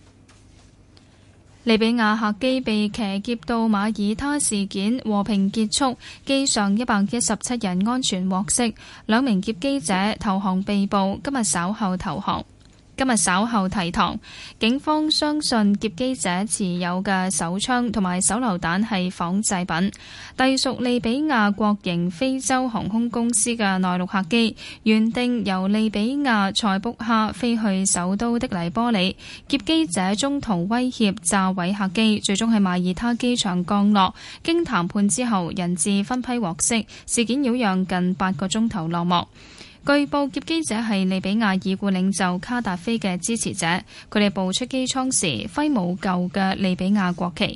利比亞客機被騎劫到馬耳他事件和平結束，機上117人安全獲釋，2名劫機者投降被捕，今日稍後提堂。警方相信劫機者持有嘅手槍同埋手榴彈係仿製品。隸屬利比亞國營非洲航空公司嘅內陸客機，原定由利比亞塞卜哈飛去首都的黎波里，劫機者中途威脅炸毀客機，最終喺馬耳他機場降落。經談判之後，人質分批獲釋，事件擾攘近8個鐘頭落幕。據報劫機者係利比亞已故領袖卡達菲嘅支持者，佢哋步出機艙時揮舞舊嘅利比亞國旗。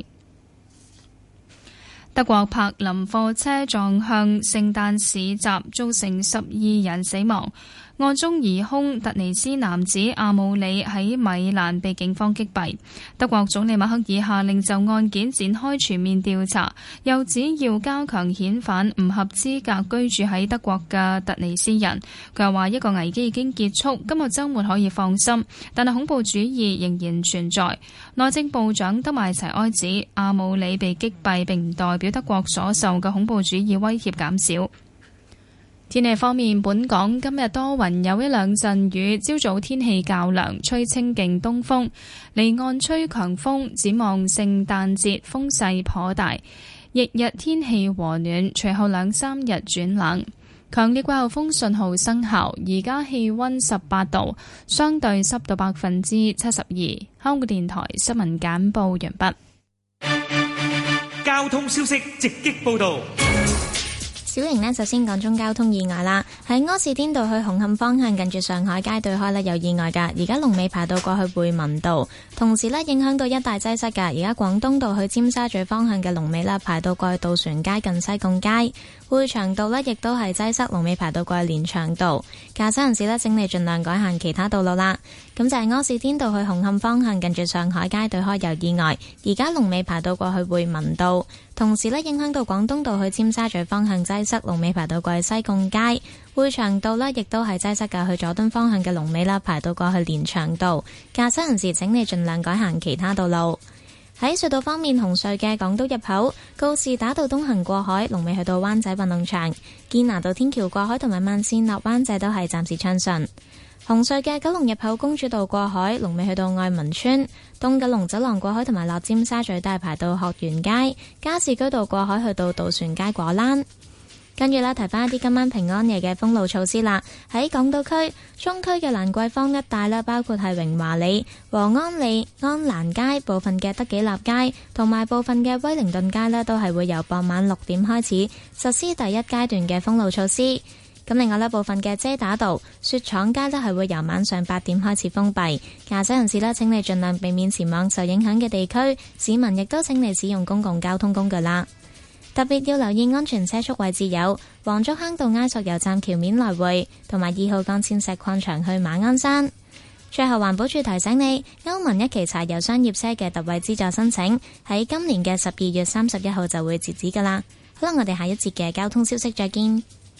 德國柏林貨車撞向聖誕市集，造成12人死亡。案中疑兇突尼斯男子阿姆里喺米蘭被警方擊斃。德國總理默克爾下令就案件展開全面調查，又指要加強遣返唔合資格居住喺德國嘅突尼斯人。佢又話一個危機已經結束，今個週末可以放心，但係恐怖主義仍然存在。內政部長德邁齊埃指阿姆里被擊斃並唔代表德國所受嘅恐怖主義威脅減少。 天氣方面，本港今日多雲，有一兩陣雨，朝早天氣較涼，吹清勁東風，離岸吹強風。展望聖誕節風勢頗大，翌日天氣和暖，隨後2-3日轉冷。強烈季候風信號生效，而家氣溫18度，相對濕度72%。香港電台新聞簡報完畢。 交通消息直擊報道。 小瑩呢，首先講中交通意外啦，喺柯士甸道去紅磡方向近住上海街對開呢有意外㗎，而家龍尾排到過去匯民道，同時呢影響到一大擠塞㗎，而家廣東道去尖沙咀方向嘅龍尾呢排到過去渡船街近西貢街，匯長道呢亦都係擠塞，龍尾排到過去連翔道，駕駛人士呢，請你盡量改行其他道路啦。咁就係柯士甸道去紅磡方向近住上海街對開有意外，而家龍尾排到過去匯民道，同時呢影響到廣東道去尖沙咀方向擠塞，龍尾排到過去西貢街，匯長道呢亦都係擠塞㗎，去佐敦方向嘅龍尾啦排到過去連翔道，駕駛人士請你盡量改行其他道路。喺隧道方面，紅隧嘅港島入口告士打道東行過海，龍尾去到灣仔運動場，堅拿道天橋過海同埋慢線落灣仔都係暫時暢順。紅隧嘅九龍入口公主道過海，龍尾去到愛民村，東九龍走廊過海同埋落尖沙咀都係排到學園街，加士居道過海去到渡船街果欄。跟住啦，提翻一啲今晚平安夜嘅封路措施啦。喺港島區、中區嘅蘭桂坊一帶啦，包括係榮華里、和安里、安蘭街、部分嘅德己立街同埋部分嘅威靈頓街呢，都係會由傍晚6點開始實施第一階段嘅封路措施。咁另外呢，部分嘅遮打道、雪廠街呢，係會由晚上8點開始封閉。駕駛人士呢，請你盡量避免前往受影響嘅地區，市民亦都請你使用公共交通工具啦。特別要留意安全車速位置有黃竹坑道埃索油站橋面來回，同埋2號幹線石礦場去馬鞍山。最後環保署提醒你，歐盟一期柴油商業車嘅特惠資助申請喺今年嘅12月31號就會截止㗎啦。好啦，我哋下一節嘅交通消息再見。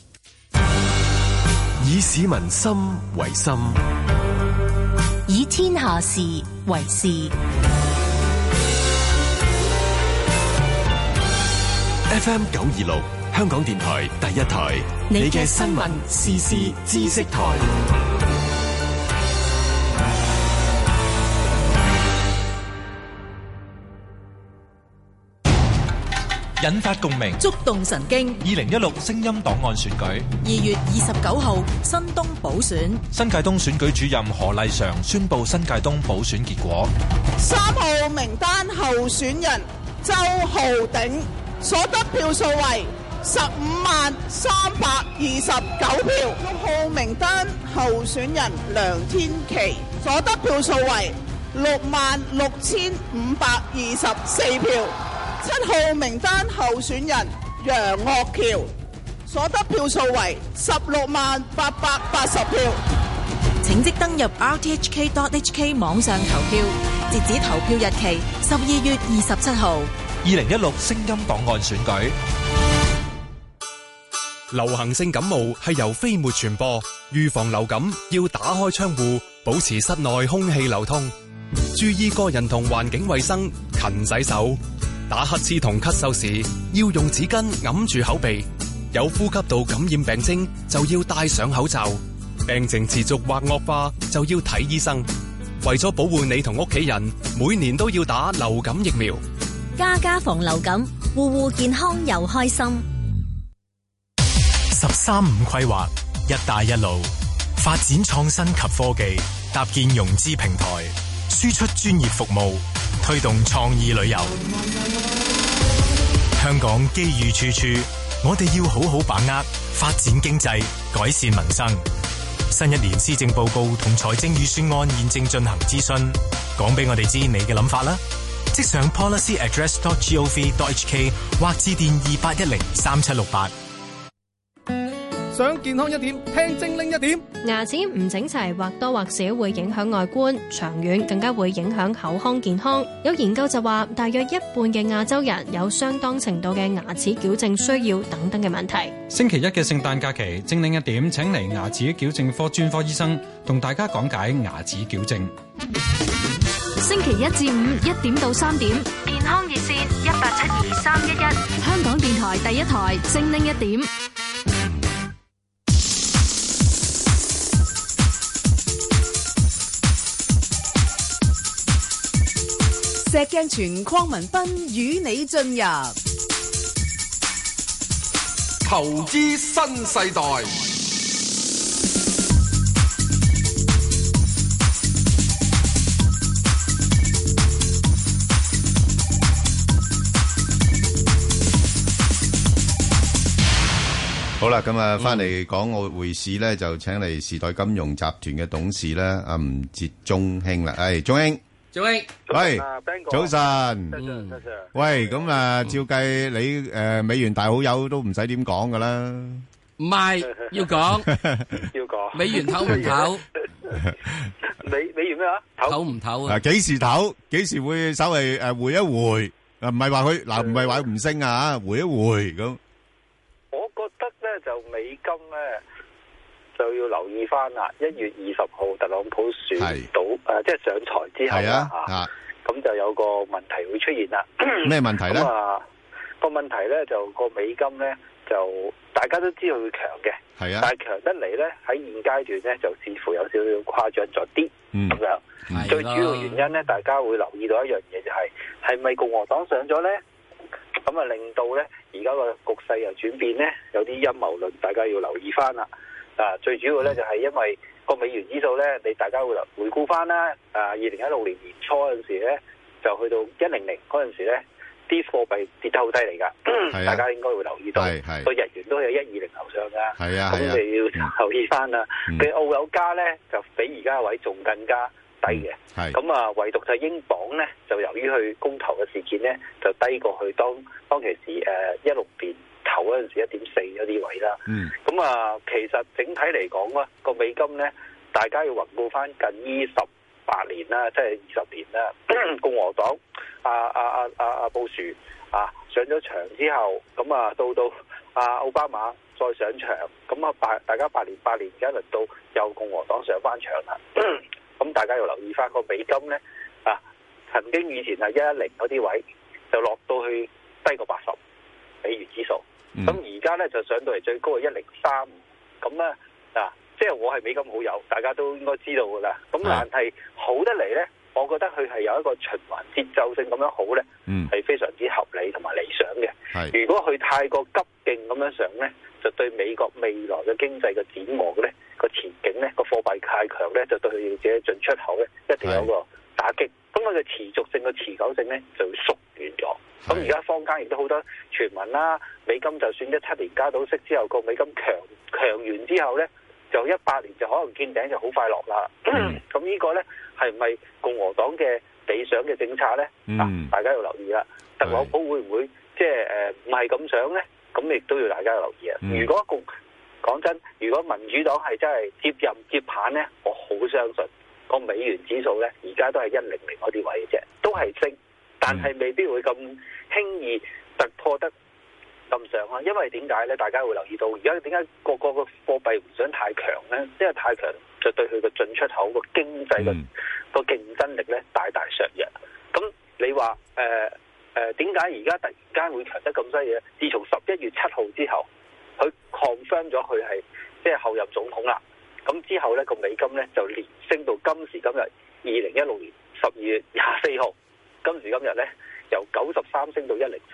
以市民心為心， 以天下事為事。 FM 926香港電台第一台，你嘅新聞時事知識台， 引發共鳴， 觸動神經。 2016聲音檔案選舉 2月29號新東補選， 新界東選舉主任何麗嫦宣布新界東補選結果。 3號名單候選人周浩鼎所得票數為153,329票。6號名單候選人梁天琦所得票數為66,524票。7號名單候選人楊岳橋所得票數為16,880票。 請即登入 rthk.hk 網上投票，截止投票日期12月27號。 2016聲音檔案選舉。 流行性感冒係由飛沫傳播，預防流感要打開窗戶，保持室內空氣流通，注意個人同環境衛生，勤洗手。打乞嗤同咳嗽時要用紙巾揞住口鼻，有呼吸道感染病徵就要戴上口罩，病情持續或惡化就要睇醫生。為咗保護你同屋企人，每年都要打流感疫苗。 家家防流感，戶戶健康又開心。 13五規劃，一帶一路，發展創新及科技，搭建融資平台，輸出專業服務，推動創意旅遊。香港機遇處處，我哋要好好把握，發展經濟，改善民生。新一年施政報告同財政預算案現正進行諮詢，講俾我哋知你嘅諗法啦。即上 policyaddress.gov.hk 或致電28103768。 想健康一點，聽精靈一點。 牙齒唔整齊或多或少會影響外觀，長遠更加會影響口腔健康。有研究就話，大約一半嘅亞洲人有相當程度嘅牙齒矯正需要等等嘅問題。 星期一嘅聖誕假期，精靈一點請嚟牙齒矯正科專科醫生同大家講解牙齒矯正。 星期1至5 1點到3點，健康熱線1872-311，香港電台第一台精靈一點。 石鏡泉鄺民彬與你進入投資新世代。 好啦，咁啊，翻嚟港澳匯市咧，就請嚟時代金融集團嘅董事咧，阿吳捷鐘兄啦。係鐘兄，喂，早晨，喂，咁啊，照計你美元大好友都唔使點講噶啦， 唔係要講，美元唞唔唞？ 美元咩啊？ 唞唔唞啊？ 幾時唞？幾時會稍微回一回？唔係話佢嗱，唔係話唔升啊，回一回咁。 我覺得咧就美金咧就要留意翻啦。1月20號特朗普選到即係上台之後啦，咁就有個問題會出現啦。 咩問題咧？ 個問題咧就個美金咧就大家都知道佢強嘅，但係強得嚟咧喺現階段咧就似乎有少少誇張咗啲咁樣。最主要原因咧，大家會留意到一樣嘢就係咪共和黨上咗咧？咁啊，令到咧而家個局勢又轉變咧，有啲陰謀論，大家要留意翻啦。最主要咧就係因為個美元指數咧，你大家會回顧翻啦。2016年年初嗰陣時咧，就去到100嗰陣時咧，啲貨幣跌得好低嚟㗎。大家應該會留意到，個日元都有120樓上㗎。咁你要留意翻啦。佢澳友加咧就比而家位仲更加低嘅，咁啊，唯獨就係英鎊咧，就由於去公投嘅事件咧，就低過去當其時16年頭嗰陣時1.4嗰啲位啦。咁啊，其實整體嚟講咧，個美金咧，大家要回顧翻近28年啦，即係20年啦。共和黨布殊上咗場之後，咁啊到奧巴馬再上場，咁啊大家8年而家輪到由共和黨上翻場啦。咁大家要留意翻個美金咧，曾經以前係110嗰啲位，就落到去低過80美元指數。咁而家咧就上到嚟最高係103。咁咧即係我係美金好友，大家都應該知道噶啦。咁但係好得嚟咧，我覺得佢係有一個循環節奏性咁樣好咧，係非常之合理同埋理想嘅。如果佢太過急勁咁樣上咧，就對美國未來嘅經濟嘅展望咧，個前景咧，個貨幣太強咧，就對佢自己進出口咧，一定有個打擊。咁佢嘅持續性、個持久性咧，就會縮短咗。咁而家坊間亦都好多傳聞啦，美金就算17年加到息之後，個美金強完之後咧，就18年就可能見頂，就好快落啦。咁呢個咧係唔係共和黨嘅理想嘅政策咧？大家要留意啦。特朗普會唔會即係唔係咁想咧？咁亦都要大家留意啊！如果講真，如果民主黨係真係接棒咧，我好相信個美元指數咧，而家都係100嗰啲位嘅啫，都係升，但係未必會咁輕易突破得咁上啊！因為點解咧？大家會留意到而家點解個貨幣唔想太強咧？因為太強就對佢個進出口個經濟個競爭力咧大大削弱。咁你話點解而家突然間會強得咁犀利咧？自從11月7號之後，佢 confirm 咗佢係即係後任總統啦。咁之後咧個美金咧就連升到今時今日2016年12月24號，今時今日咧由93升到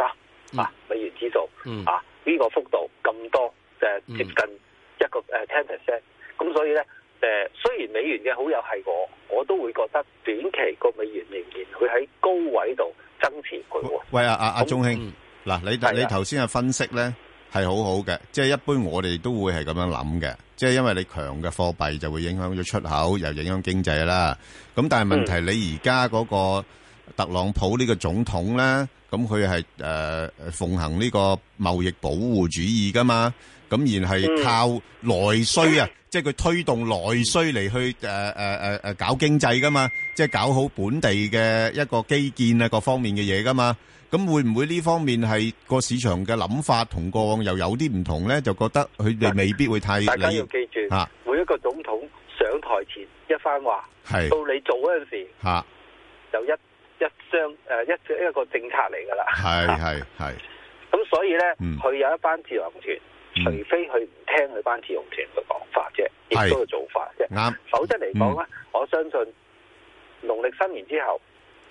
103美元指數呢個幅度咁多，接近一個10%。咁所以咧雖然美元嘅好友係我都會覺得短期個美元仍然會喺高位度增持佢喎。喂，阿鐘兄，嗱你頭先嘅分析咧係好好嘅，即係一般我哋都會係咁樣諗嘅，即係因為你強嘅貨幣就會影響咗出口，又影響經濟啦。咁但係問題你而家嗰個特朗普呢個總統咧，咁佢係奉行呢個貿易保護主義噶嘛，咁然係靠內需啊。即係佢推動內需嚟去搞經濟噶嘛，即係搞好本地嘅一個基建啊各方面嘅嘢噶嘛。咁會唔會呢方面係個市場嘅諗法同過往又有啲唔同咧？就覺得佢哋未必會太理。大家要記住，每一個總統上台前一番話，到你做嗰陣時，就一個政策嚟噶啦。係。咁所以咧，佢有一班自由行團。除非佢唔聽佢班自由團嘅講法啫，亦都係做法啫。啱，否則嚟講咧，我相信農曆新年之後，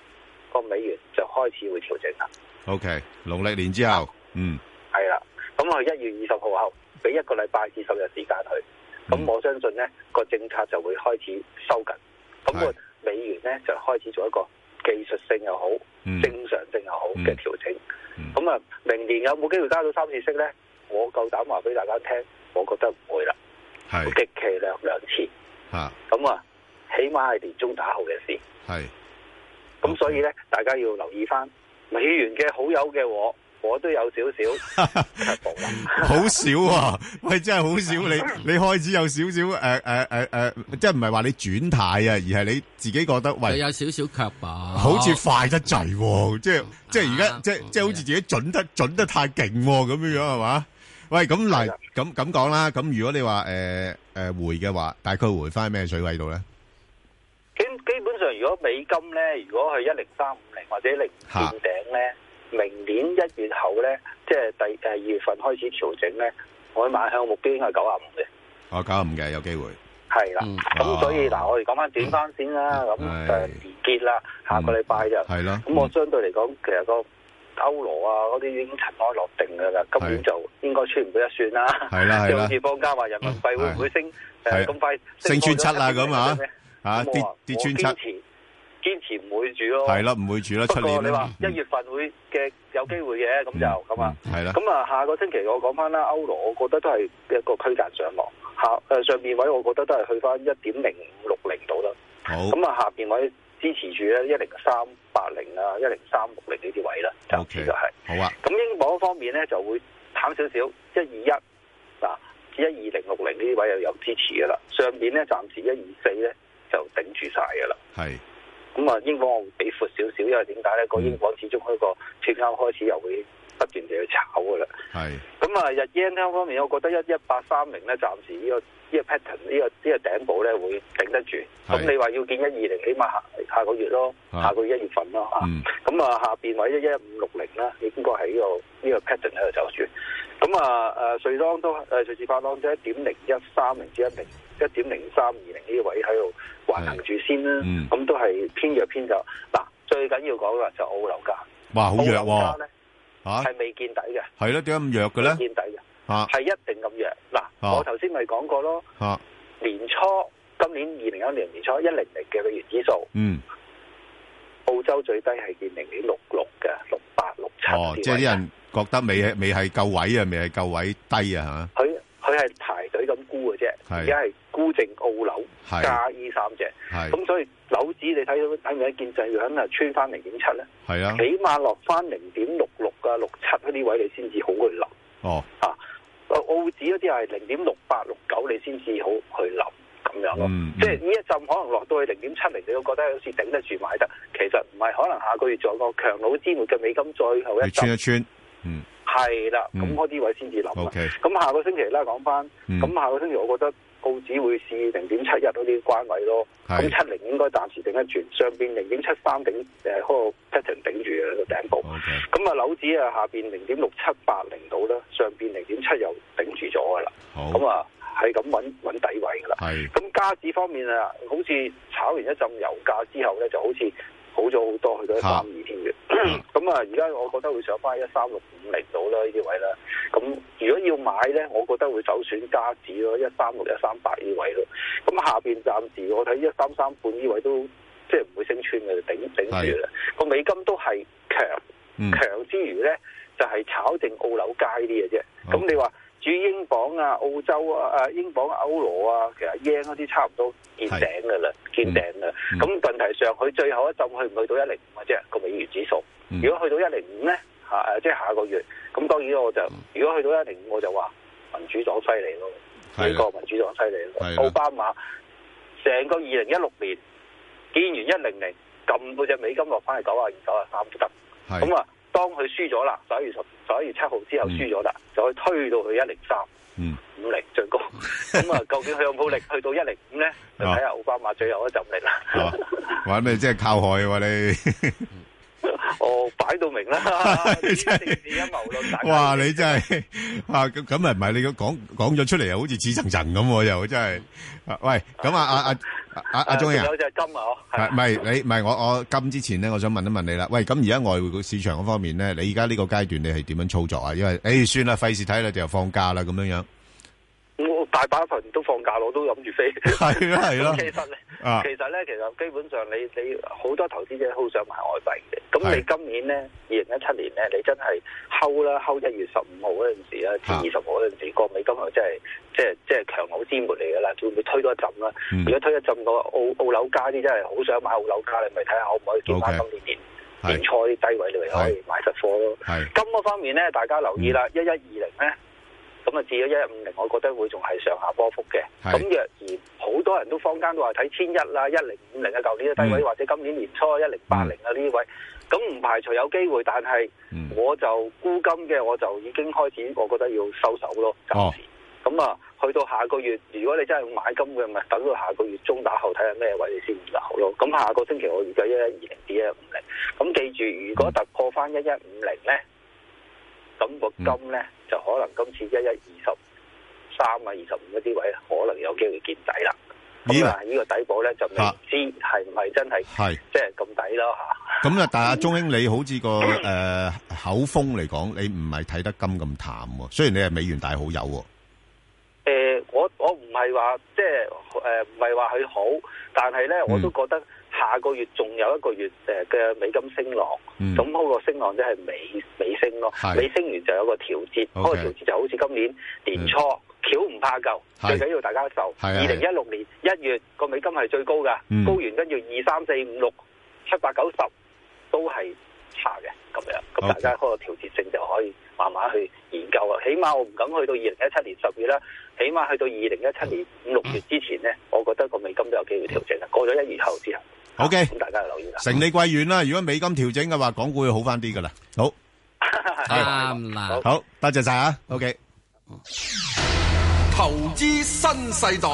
個美元就開始會調整啦。 OK， 農曆年之後， 係啦，咁佢1月20號後俾1個禮拜至10日時間佢，咁我相信咧個政策就會開始收緊，咁個美元咧就開始做一個技術性又好、正常性又好嘅調整。咁啊，明年有冇機會加到3次息咧？我夠膽話俾大家聽，我覺得唔會啦，極其量2次。咁啊，起碼係年中打後嘅事。咁所以咧，大家要留意翻美元嘅好友嘅我都有少少卻步啦。 好少啊！喂，真係好少。你開始有少少即係唔係話你轉態啊，而係你自己覺得喂有少少卻步， 好似快得滯喎。即係而家即係好似自己準得太勁咁樣係嘛？喂，咁嗱咁講啦。咁如果你話回嘅話，大概回翻咩水位度咧？ 基本上，如果美金咧，如果係10350或者0見頂咧，明年1月後咧，即係2月份開始調整咧，我買向目標應該係95嘅。 95嘅有機會。 係啦，咁所以嗱，我哋講翻短翻先啦。咁年結啦，下個禮拜就係咯。咁我相對嚟講，其實個歐羅啊嗰啲已經塵埃落定㗎啦，今年就應該穿唔到一算啦。係啦，即係好似坊間話人民幣會唔會升咁快升穿7啦咁啊？跌穿7。 堅持唔會住咯， 係啦，唔會住啦。 不過你話1月份會嘅有機會嘅，咁就咁啊。 係啦。 咁啊，下個星期我講翻啦，歐羅我覺得都係一個區間上落。上邊位我覺得都係去翻1.0560度啦。好。咁啊，下邊位支持住咧10380啊，10360呢啲位啦。OK。就係。好啊。咁英鎊方面咧就會淡少少，121嗱，12060呢啲位又有支持噶啦。上邊咧暫時124咧就頂住晒噶啦。係。咁啊，英鎊我會比闊少少，因為點解咧？個英鎊始終喺個脫歐開始又會不斷地去炒噶啦。係。咁啊，日 yen 方面，我覺得11830咧，暫時呢個 pattern 呢個頂部咧會頂得住。咁你話要見120，起碼下個月咯，下個月1月份咯嚇。咁啊，下邊位11560啦，應該係呢個 pattern 喺度走住。咁啊，瑞郎都瑞士法郎即係1.0130至1.0320呢啲位喺度橫行住先啦。咁都係偏弱偏走。嗱，最緊要講嘅就澳樓價。哇，好弱喎！咧係未見底嘅。係咯，點解咁弱嘅咧？未見底嘅，係一定咁弱。嗱，我頭先咪講過咯。年初今年2021年年初100嘅美元指數。澳洲最低係見0.66嘅，6867。 即係啲人覺得未係夠位啊，未係夠位低啊嚇。 佢係排隊咁沽嘅啫，而家係沽淨澳樓加呢3隻。咁所以樓指你睇唔睇見就要肯啊穿翻0.7咧？係啊，起碼落翻0.66啊、67嗰啲位你先至好去諗。澳指嗰啲係0.6869你先至好去諗咁樣咯。即係呢一陣可能落到去0.70，你都覺得好似頂得住買得，其實唔係，可能下個月仲有個強弩之末嘅美金最後一穿一穿。 係啦，咁嗰啲位先至諗。咁下個星期咧講翻，咁下個星期我覺得澳紙會試0.71嗰啲關位咯。咁70應該暫時頂得住，上邊0.73頂嗰個 pattern 頂住嘅個頂部。咁啊樓指啊下邊0.6780到啦，上邊0.7又頂住咗噶啦。咁啊係咁揾底位噶啦。咁加指方面啊，好似炒完一陣油價之後咧，就好似好咗好多，去到132添嘅。咁啊，而家我覺得會上翻13650到啦呢啲位啦。咁如果要買咧，我覺得會首選加指咯，136、138呢位咯。咁下邊暫時我睇133半呢位都即係唔會升穿嘅，頂住啦。個美金都係強之餘咧，就係炒定澳樓街啲嘅啫。咁你話至於英鎊啊、澳洲啊、英鎊、歐羅啊，其實 yen 嗰啲差唔多見頂㗎啦，見頂啦。咁問題上，佢最後一陣去唔去到105嘅啫個美元指數。如果去到105咧，即係下個月，咁當然我就如果去到105，我就話民主黨犀利咯，美國民主黨犀利咯。奧巴馬成個2016年見完100，撳到隻美金落翻去92、93都得。咁啊，當佢輸咗啦，11月7號之後輸咗啦，就可以推到去10350最高。咁啊，究竟佢有冇力去到105咧？就睇下奧巴馬最後一陣力啦。 玩咩？即係靠害喎你？ 擺到明啦，政治陰謀論。 哇！你真係咁唔係你講咗出嚟，又好似似層層咁，又真係。喂，咁阿鍾英啊， 有隻金啊， 唔係我金之前咧，我想問一問你啦。喂，咁而家外匯市場嗰方面咧，你而家呢個階段你係點樣操作啊？因為算啦，費事睇啦，就放假啦咁樣樣。 我大把份都放假，我都諗住飛。 係咯。 其實咧，基本上你好多投資者好想買外幣嘅。咁你今年咧，2017年咧，你真係睺1月15號嗰陣時啊，至20號嗰陣時，個美金係即係強弩之末嚟噶啦，會唔會推多一陣啦？如果推一陣個澳樓價啲真係好想買澳樓價，你咪睇下可唔可以見翻今年年初啲低位，你咪可以買實貨咯。金嗰方面咧，大家留意啦，1120咧。咁啊，至咗1150，我覺得會仲係上下波幅嘅。咁若然好多人都坊間都話睇1100啦、1050啊，舊年嘅低位，或者今年年初1080啊呢啲位，咁唔排除有機會，但係我就沽金嘅，我就已經開始，我覺得要收手咯，暫時。咁啊，去到下個月，如果你真係買金嘅，咪等到下個月中打後睇下咩位你先入咯。咁下個星期我預計1120至1150。咁記住，如果突破翻1150咧，咁個金咧就可能今次1123啊、25嗰啲位，可能有機會見底啦。咁啊，呢個底部咧就未知係唔係真係即係咁抵咯嚇。 咁啊，但係阿鐘兄，你好似個口風嚟講，你唔係睇得金咁淡喎。雖然你係美元大好友喎。 我唔係話即係唔係話佢好，但係咧我都覺得下個月仲有一個月嘅美金升浪，咁嗰個升浪即係尾升咯，尾升完就有個調節，嗰個調節就好似今年年初橋唔怕舊，最緊要大家受。2016年1月個美金係最高㗎，高完跟住2、3、4、5、6、7、8、9、10都係差嘅咁樣，咁大家嗰個調節性就可以慢慢去研究啊。起碼我唔敢去到2017年10月啦，起碼去到2017年5、6月之前咧，我覺得個美金都有機會調整啊。過咗1月後之後。 OK， 咁大家留意啦。 承你貴言啦，如果美金調整嘅話，港股會好翻啲噶啦。好， 啱啦。 好，多謝晒啊。OK， 投資新世代。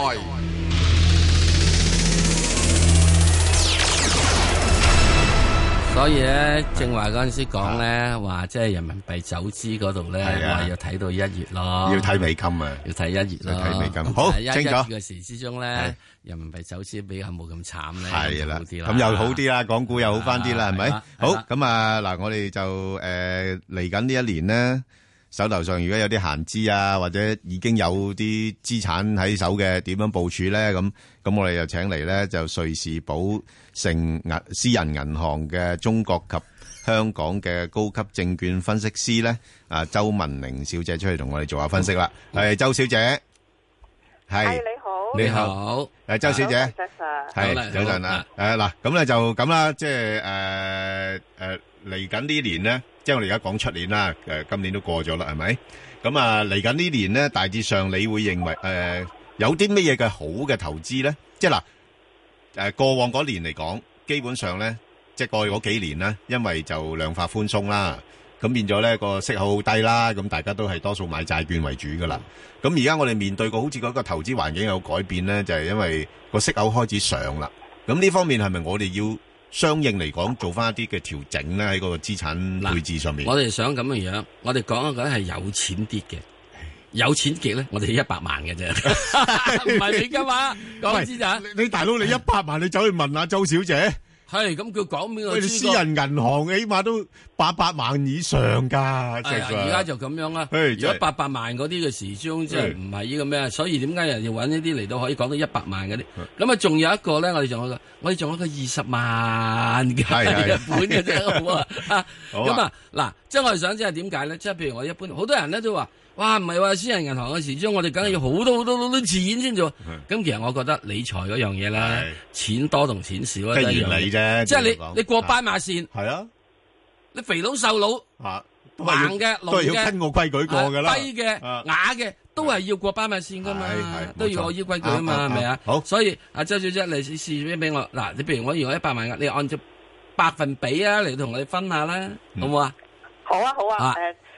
所以咧，正話嗰陣時講咧，話即係人民幣走資嗰度咧，話要睇到1月咯， 要睇美金啊， 要睇1月咯， 睇美金。好，清楚。 1月嘅時之中咧，人民幣走資比較冇咁慘咧， 係啦，咁又好啲啦，港股又好翻啲啦，係咪？好，咁啊嗱，我哋就嚟緊呢一年咧，手頭上如果有啲閒資啊，或者已經有啲資產喺手嘅，點樣部署咧？咁我哋就請嚟咧，就瑞士寶盛私人銀行嘅中國及香港嘅高級證券分析師咧，周文玲小姐出嚟同我哋做下分析啦。係周小姐，係你好，周小姐，係早晨啦。嗱，咁咧就咁啦，即係嚟緊呢年咧，即係我哋而家講出年啦，今年都過咗啦，係咪？咁啊，嚟緊呢年咧，大致上你會認為有啲乜嘢嘅好嘅投資咧？即係嗱，過往嗰年嚟講，基本上咧，即係過去嗰幾年咧，因為就量化寬鬆啦，咁變咗咧個息口好低啦，咁大家都係多數買債券為主噶啦。咁而家我哋面對過好似嗰個投資環境有改變咧，就係因為個息口開始上啦。咁呢方面係咪我哋要相應嚟講做翻一啲嘅調整咧？喺嗰個資產配置上面， 我哋想咁嘅樣，我哋講一講係有錢啲嘅。有錢極咧，我哋100萬嘅啫，唔係美金嘛？講資產， 你大佬你100萬，你走去問下周小姐， 係咁佢講邊個？ 私人銀行起碼都800萬以上㗎， 而家就咁樣啦。如果800萬嗰啲嘅時鐘，即係唔係呢個咩？所以點解人要揾呢啲嚟到可以講到100萬嗰啲？咁啊，仲有一個咧，我哋仲有一個20萬嘅日本嘅啫，好啊。咁啊，嗱，即係我哋想即係點解咧？即係譬如我一般好多人咧都話。哇，唔係話私人銀行嘅時鐘，我哋梗係要好多錢先做。咁其實我覺得理財嗰樣嘢咧，錢多同錢少咧一樣啫。即係你過斑馬線，係啊，你肥佬瘦佬，橫嘅都係要跟個規矩過㗎啦。 低嘅啞嘅都係要過斑馬線㗎嘛，都要我依規矩啊嘛，係咪啊？好，所以阿周小姐，你試俾我嗱，你譬如我如果100萬，你按照百分比啊嚟同我哋分下啦，好唔好啊？ 好啊，好啊，其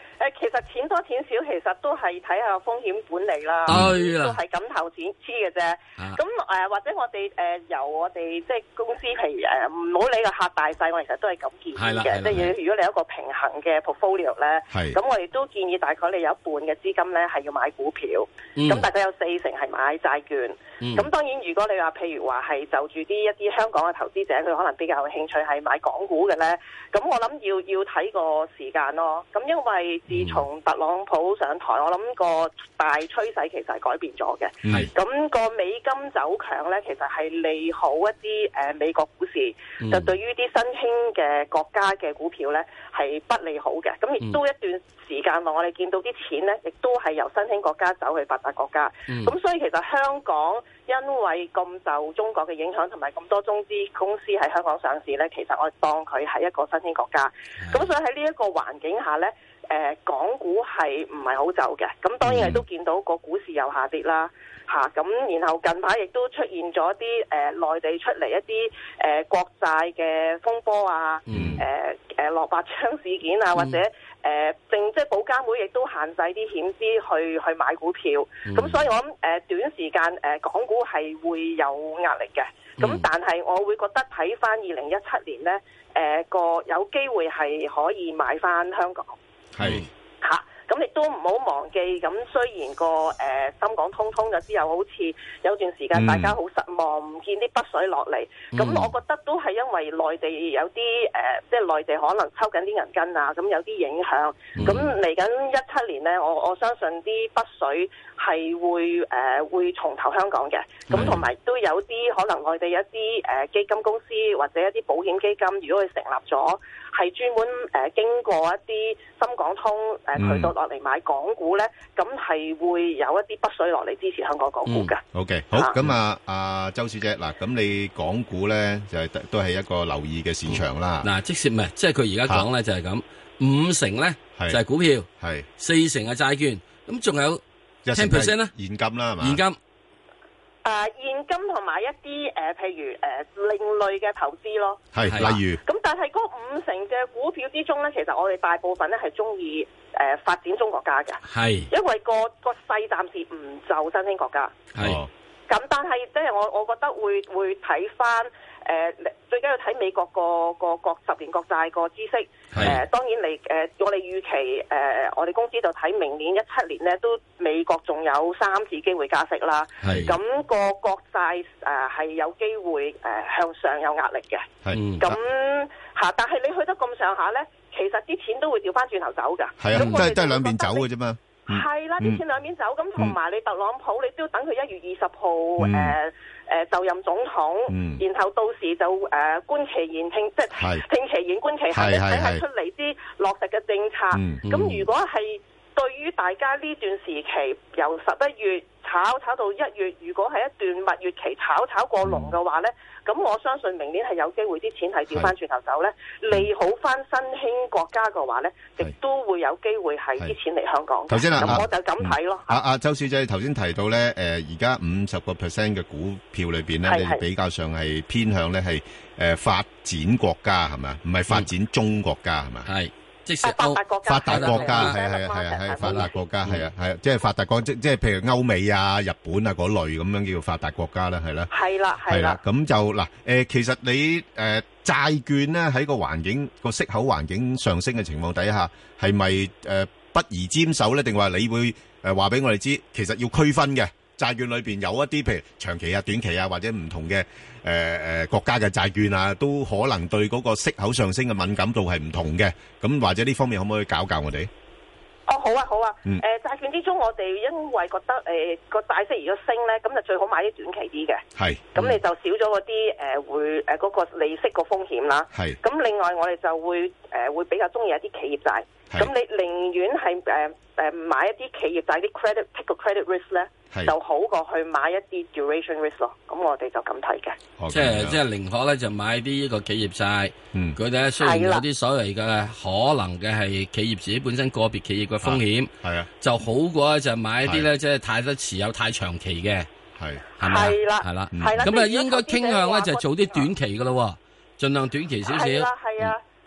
實錢多錢少，其實都係睇下風險管理啦，都係咁投錢黐嘅啫。咁或者我哋由我哋即係公司，譬如唔好理個客大細，我其實都係咁建議嘅。即係如果你有一個平衡嘅 portfolio 咧，咁我哋都建議大概你有一半嘅資金咧係要買股票，咁大概有40%係買債券。咁當然如果你話譬如話係就住一啲香港嘅投資者，佢可能比較有興趣係買港股嘅咧，咁我諗要睇個時間咯。咁因為自從特朗普上台，我諗個大趨勢其實係改變咗嘅。咁個美金走強咧，其實係利好一啲美國股市，就對於啲新興嘅國家嘅股票咧係不利好嘅。咁亦都一段時間內，我哋見到啲錢咧，亦都係由新興國家走去發達國家。咁所以其實香港因為咁受中國嘅影響，同埋咁多中資公司喺香港上市咧，其實我當佢係一個新興國家。咁所以喺呢一個環境下咧，港股係唔係好走嘅？咁當然係都見到個股市又下跌啦，咁然後近排亦都出現咗啲內地出嚟一啲國債嘅風波啊，落白章事件啊，或者即係保監會亦都限制啲險資去買股票。咁所以我諗短時間港股係會有壓力嘅。咁但係我會覺得睇翻2017年咧，有機會係可以買翻香港。咁亦都唔好忘記，咁雖然個深港通咗之後，好似有段時間大家好失望，唔見啲北水落嚟。咁我覺得都係因為內地有啲即係內地可能抽緊啲銀根啊，咁有啲影響。咁嚟緊17年呢，我相信啲北水係會重投香港嘅。咁同埋都有啲可能內地有啲基金公司或者一啲保險基金，如果佢成立咗，係專門經過一啲深港通渠道落嚟買港股咧，咁係會有一啲北水落嚟支持香港港股嘅。 OK， 好，咁啊，周小姐，嗱，咁你港股咧就係都係一個留意嘅市場啦。 嗱，即係唔係，即係佢而家講咧就係咁，50%咧就係股票，係40%係債券，咁仲有10%咧現金啦，係嘛？ 現金。 現金同埋一啲譬如另類嘅投資咯， 係例如咁，但係嗰50%嘅股票之中咧，其實我哋大部分咧係中意發展中國家嘅，係因為個勢暫時唔就新興國家，係咁，但係即係我覺得會睇翻最緊要睇美國個10年國債個孳息，當然嚟我哋預期我哋公司就睇明年17年咧都美國仲有3次機會加息啦，咁個國債係有機會向上有壓力嘅，咁但係你去得咁上下咧，其實啲錢都會調翻轉頭走㗎，係啊， 都係兩邊走嘅啫嘛。 係啦，啲錢兩邊走，咁同埋你特朗普，你都要等佢1月20號就任總統，然後到時就觀其言聽，即係聽其言觀其行，睇下出嚟啲落實嘅政策。咁如果係對於大家呢段時期由11月炒到1月，如果係一段蜜月期炒過龍嘅話咧，咁我相信明年係有機會啲錢係調翻轉頭走咧，利好翻新興國家嘅話咧，亦都會有機會係啲錢嚟香港。 頭先咁我就咁睇咯。 周小姐頭先提到咧，而家50% 嘅股票裏邊咧，你比較上係偏向咧係發展國家係咪？唔係發展中國家係咪？係。即係發達國家，係發達國家，係啊，即係發達國，即係譬如歐美啊、日本啊嗰類咁樣叫發達國家啦，係啦，係啦，咁就嗱其實你債券咧喺個環境個息口環境上升嘅情況底下，係咪不宜沾手咧？定話你會話俾我哋知，其實要區分嘅債券裏邊有一啲譬如長期啊、短期啊或者唔同嘅國家嘅債券啊，都可能對嗰個息口上升嘅敏感度係唔同嘅。咁或者呢方面可唔可以教我哋？ 好啊。債券之中，我哋因為覺得個債息如果升咧，咁就最好買啲短期啲嘅。係。咁你就少咗嗰啲會嗰個利息個風險啦。係。咁另外我哋就會比較中意一啲企業債。咁你寧願係買一啲企業債啲 take 個 credit risk 咧，就好過去買一啲 duration risk 咯。咁我哋就咁睇嘅。 即係寧可咧就買啲呢個企業債。佢哋咧雖然有啲所謂嘅可能嘅係企業自己本身個別企業嘅風險，係啊，就好過就買一啲咧即係太多持有太長期嘅，係咪？係啦。咁啊應該傾向咧就做啲短期嘅咯，盡量短期少少。 係啊。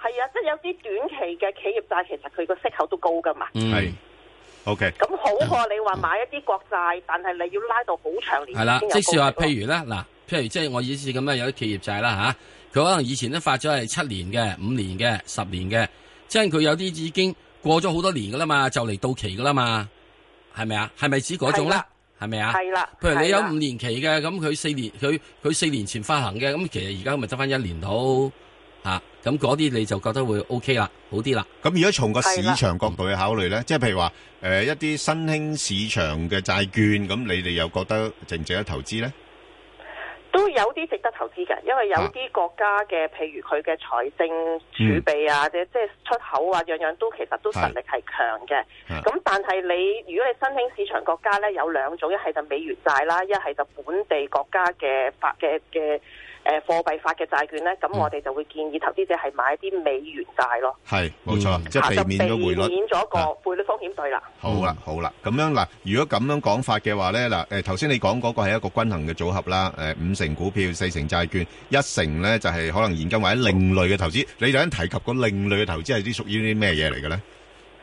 係啊，即係有啲短期嘅企業債，其實佢個息口都高噶嘛。 係。OK。 咁好過你話買一啲國債，但係你要拉到好長年。 係啦，即是話，譬如咧，嗱，譬如即係我意思咁樣，有啲企業債啦嚇，佢可能以前都發咗係7年嘅、5年嘅、10年嘅，即係佢有啲已經過咗好多年噶啦嘛，就嚟到期噶啦嘛，係咪啊？係咪指嗰種咧？係咪啊？ 係啦。 譬如你有5年期嘅，咁佢4年前發行嘅，咁其實而家咪得翻1年到嚇，咁嗰啲你就覺得會 OK 啦，好啲啦。 咁如果從個市場角度去考慮咧，即係譬如話一啲新興市場嘅債券，咁你哋又覺得值唔值得投資咧？ 都有啲值得投資嘅，因為有啲國家嘅，譬如佢嘅財政儲備啊，即係出口啊，樣樣都其實都實力係強嘅。咁但係如果你新興市場國家呢，有兩種，一係就美元債啦，一係就本地國家嘅貨幣發嘅債券呢，咁我哋就會建議投資者係買啲美元債咯。係，冇錯，即係避免咗匯率，避免咗個匯率風險對啦。 好啦，咁樣嗱，如果咁樣講法嘅話呢，嗱，頭先你講嗰個係一個均衡嘅組合啦，5成股票，4成債券，1成呢就係可能現金或者另類嘅投資。你頭先提及個另類嘅投資係啲屬於啲咩嘢嚟嘅呢？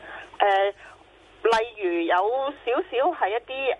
例如有少少係一啲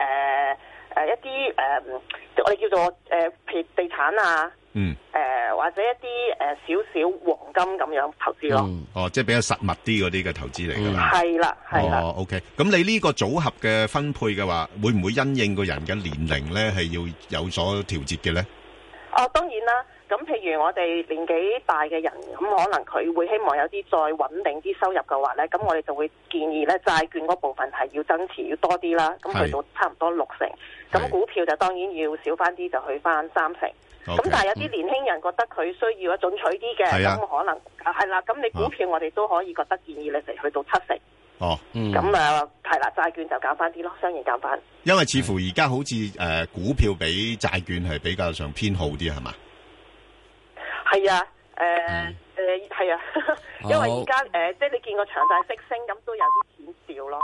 我哋叫做譬如地產啊。或者一啲少少黃金咁樣投資咯。 即係比較實物啲嗰啲嘅投資嚟㗎啦。 係啦。 OK。咁你呢個組合嘅分配嘅話，會唔會因應個人嘅年齡咧，係要有所調節嘅咧？ 當然啦。咁譬如我哋年紀大嘅人，咁可能佢會希望有啲再穩定啲收入嘅話咧，咁我哋就會建議咧債券嗰部分係要增持要多啲啦。咁去到差唔多6成。咁股票就當然要少翻啲，就去翻3成。咁但係有啲年輕人覺得佢需要進取啲嘅，咁可能係啦。咁你股票我哋都可以覺得建議你哋去到7成。咁係啦，債券就減翻啲咯，相應減翻。 因為似乎而家好似股票比債券係比較上偏好啲，係嘛？ 係啊，係啊，因為而家即係你見個長債息升，咁都有啲錢少咯。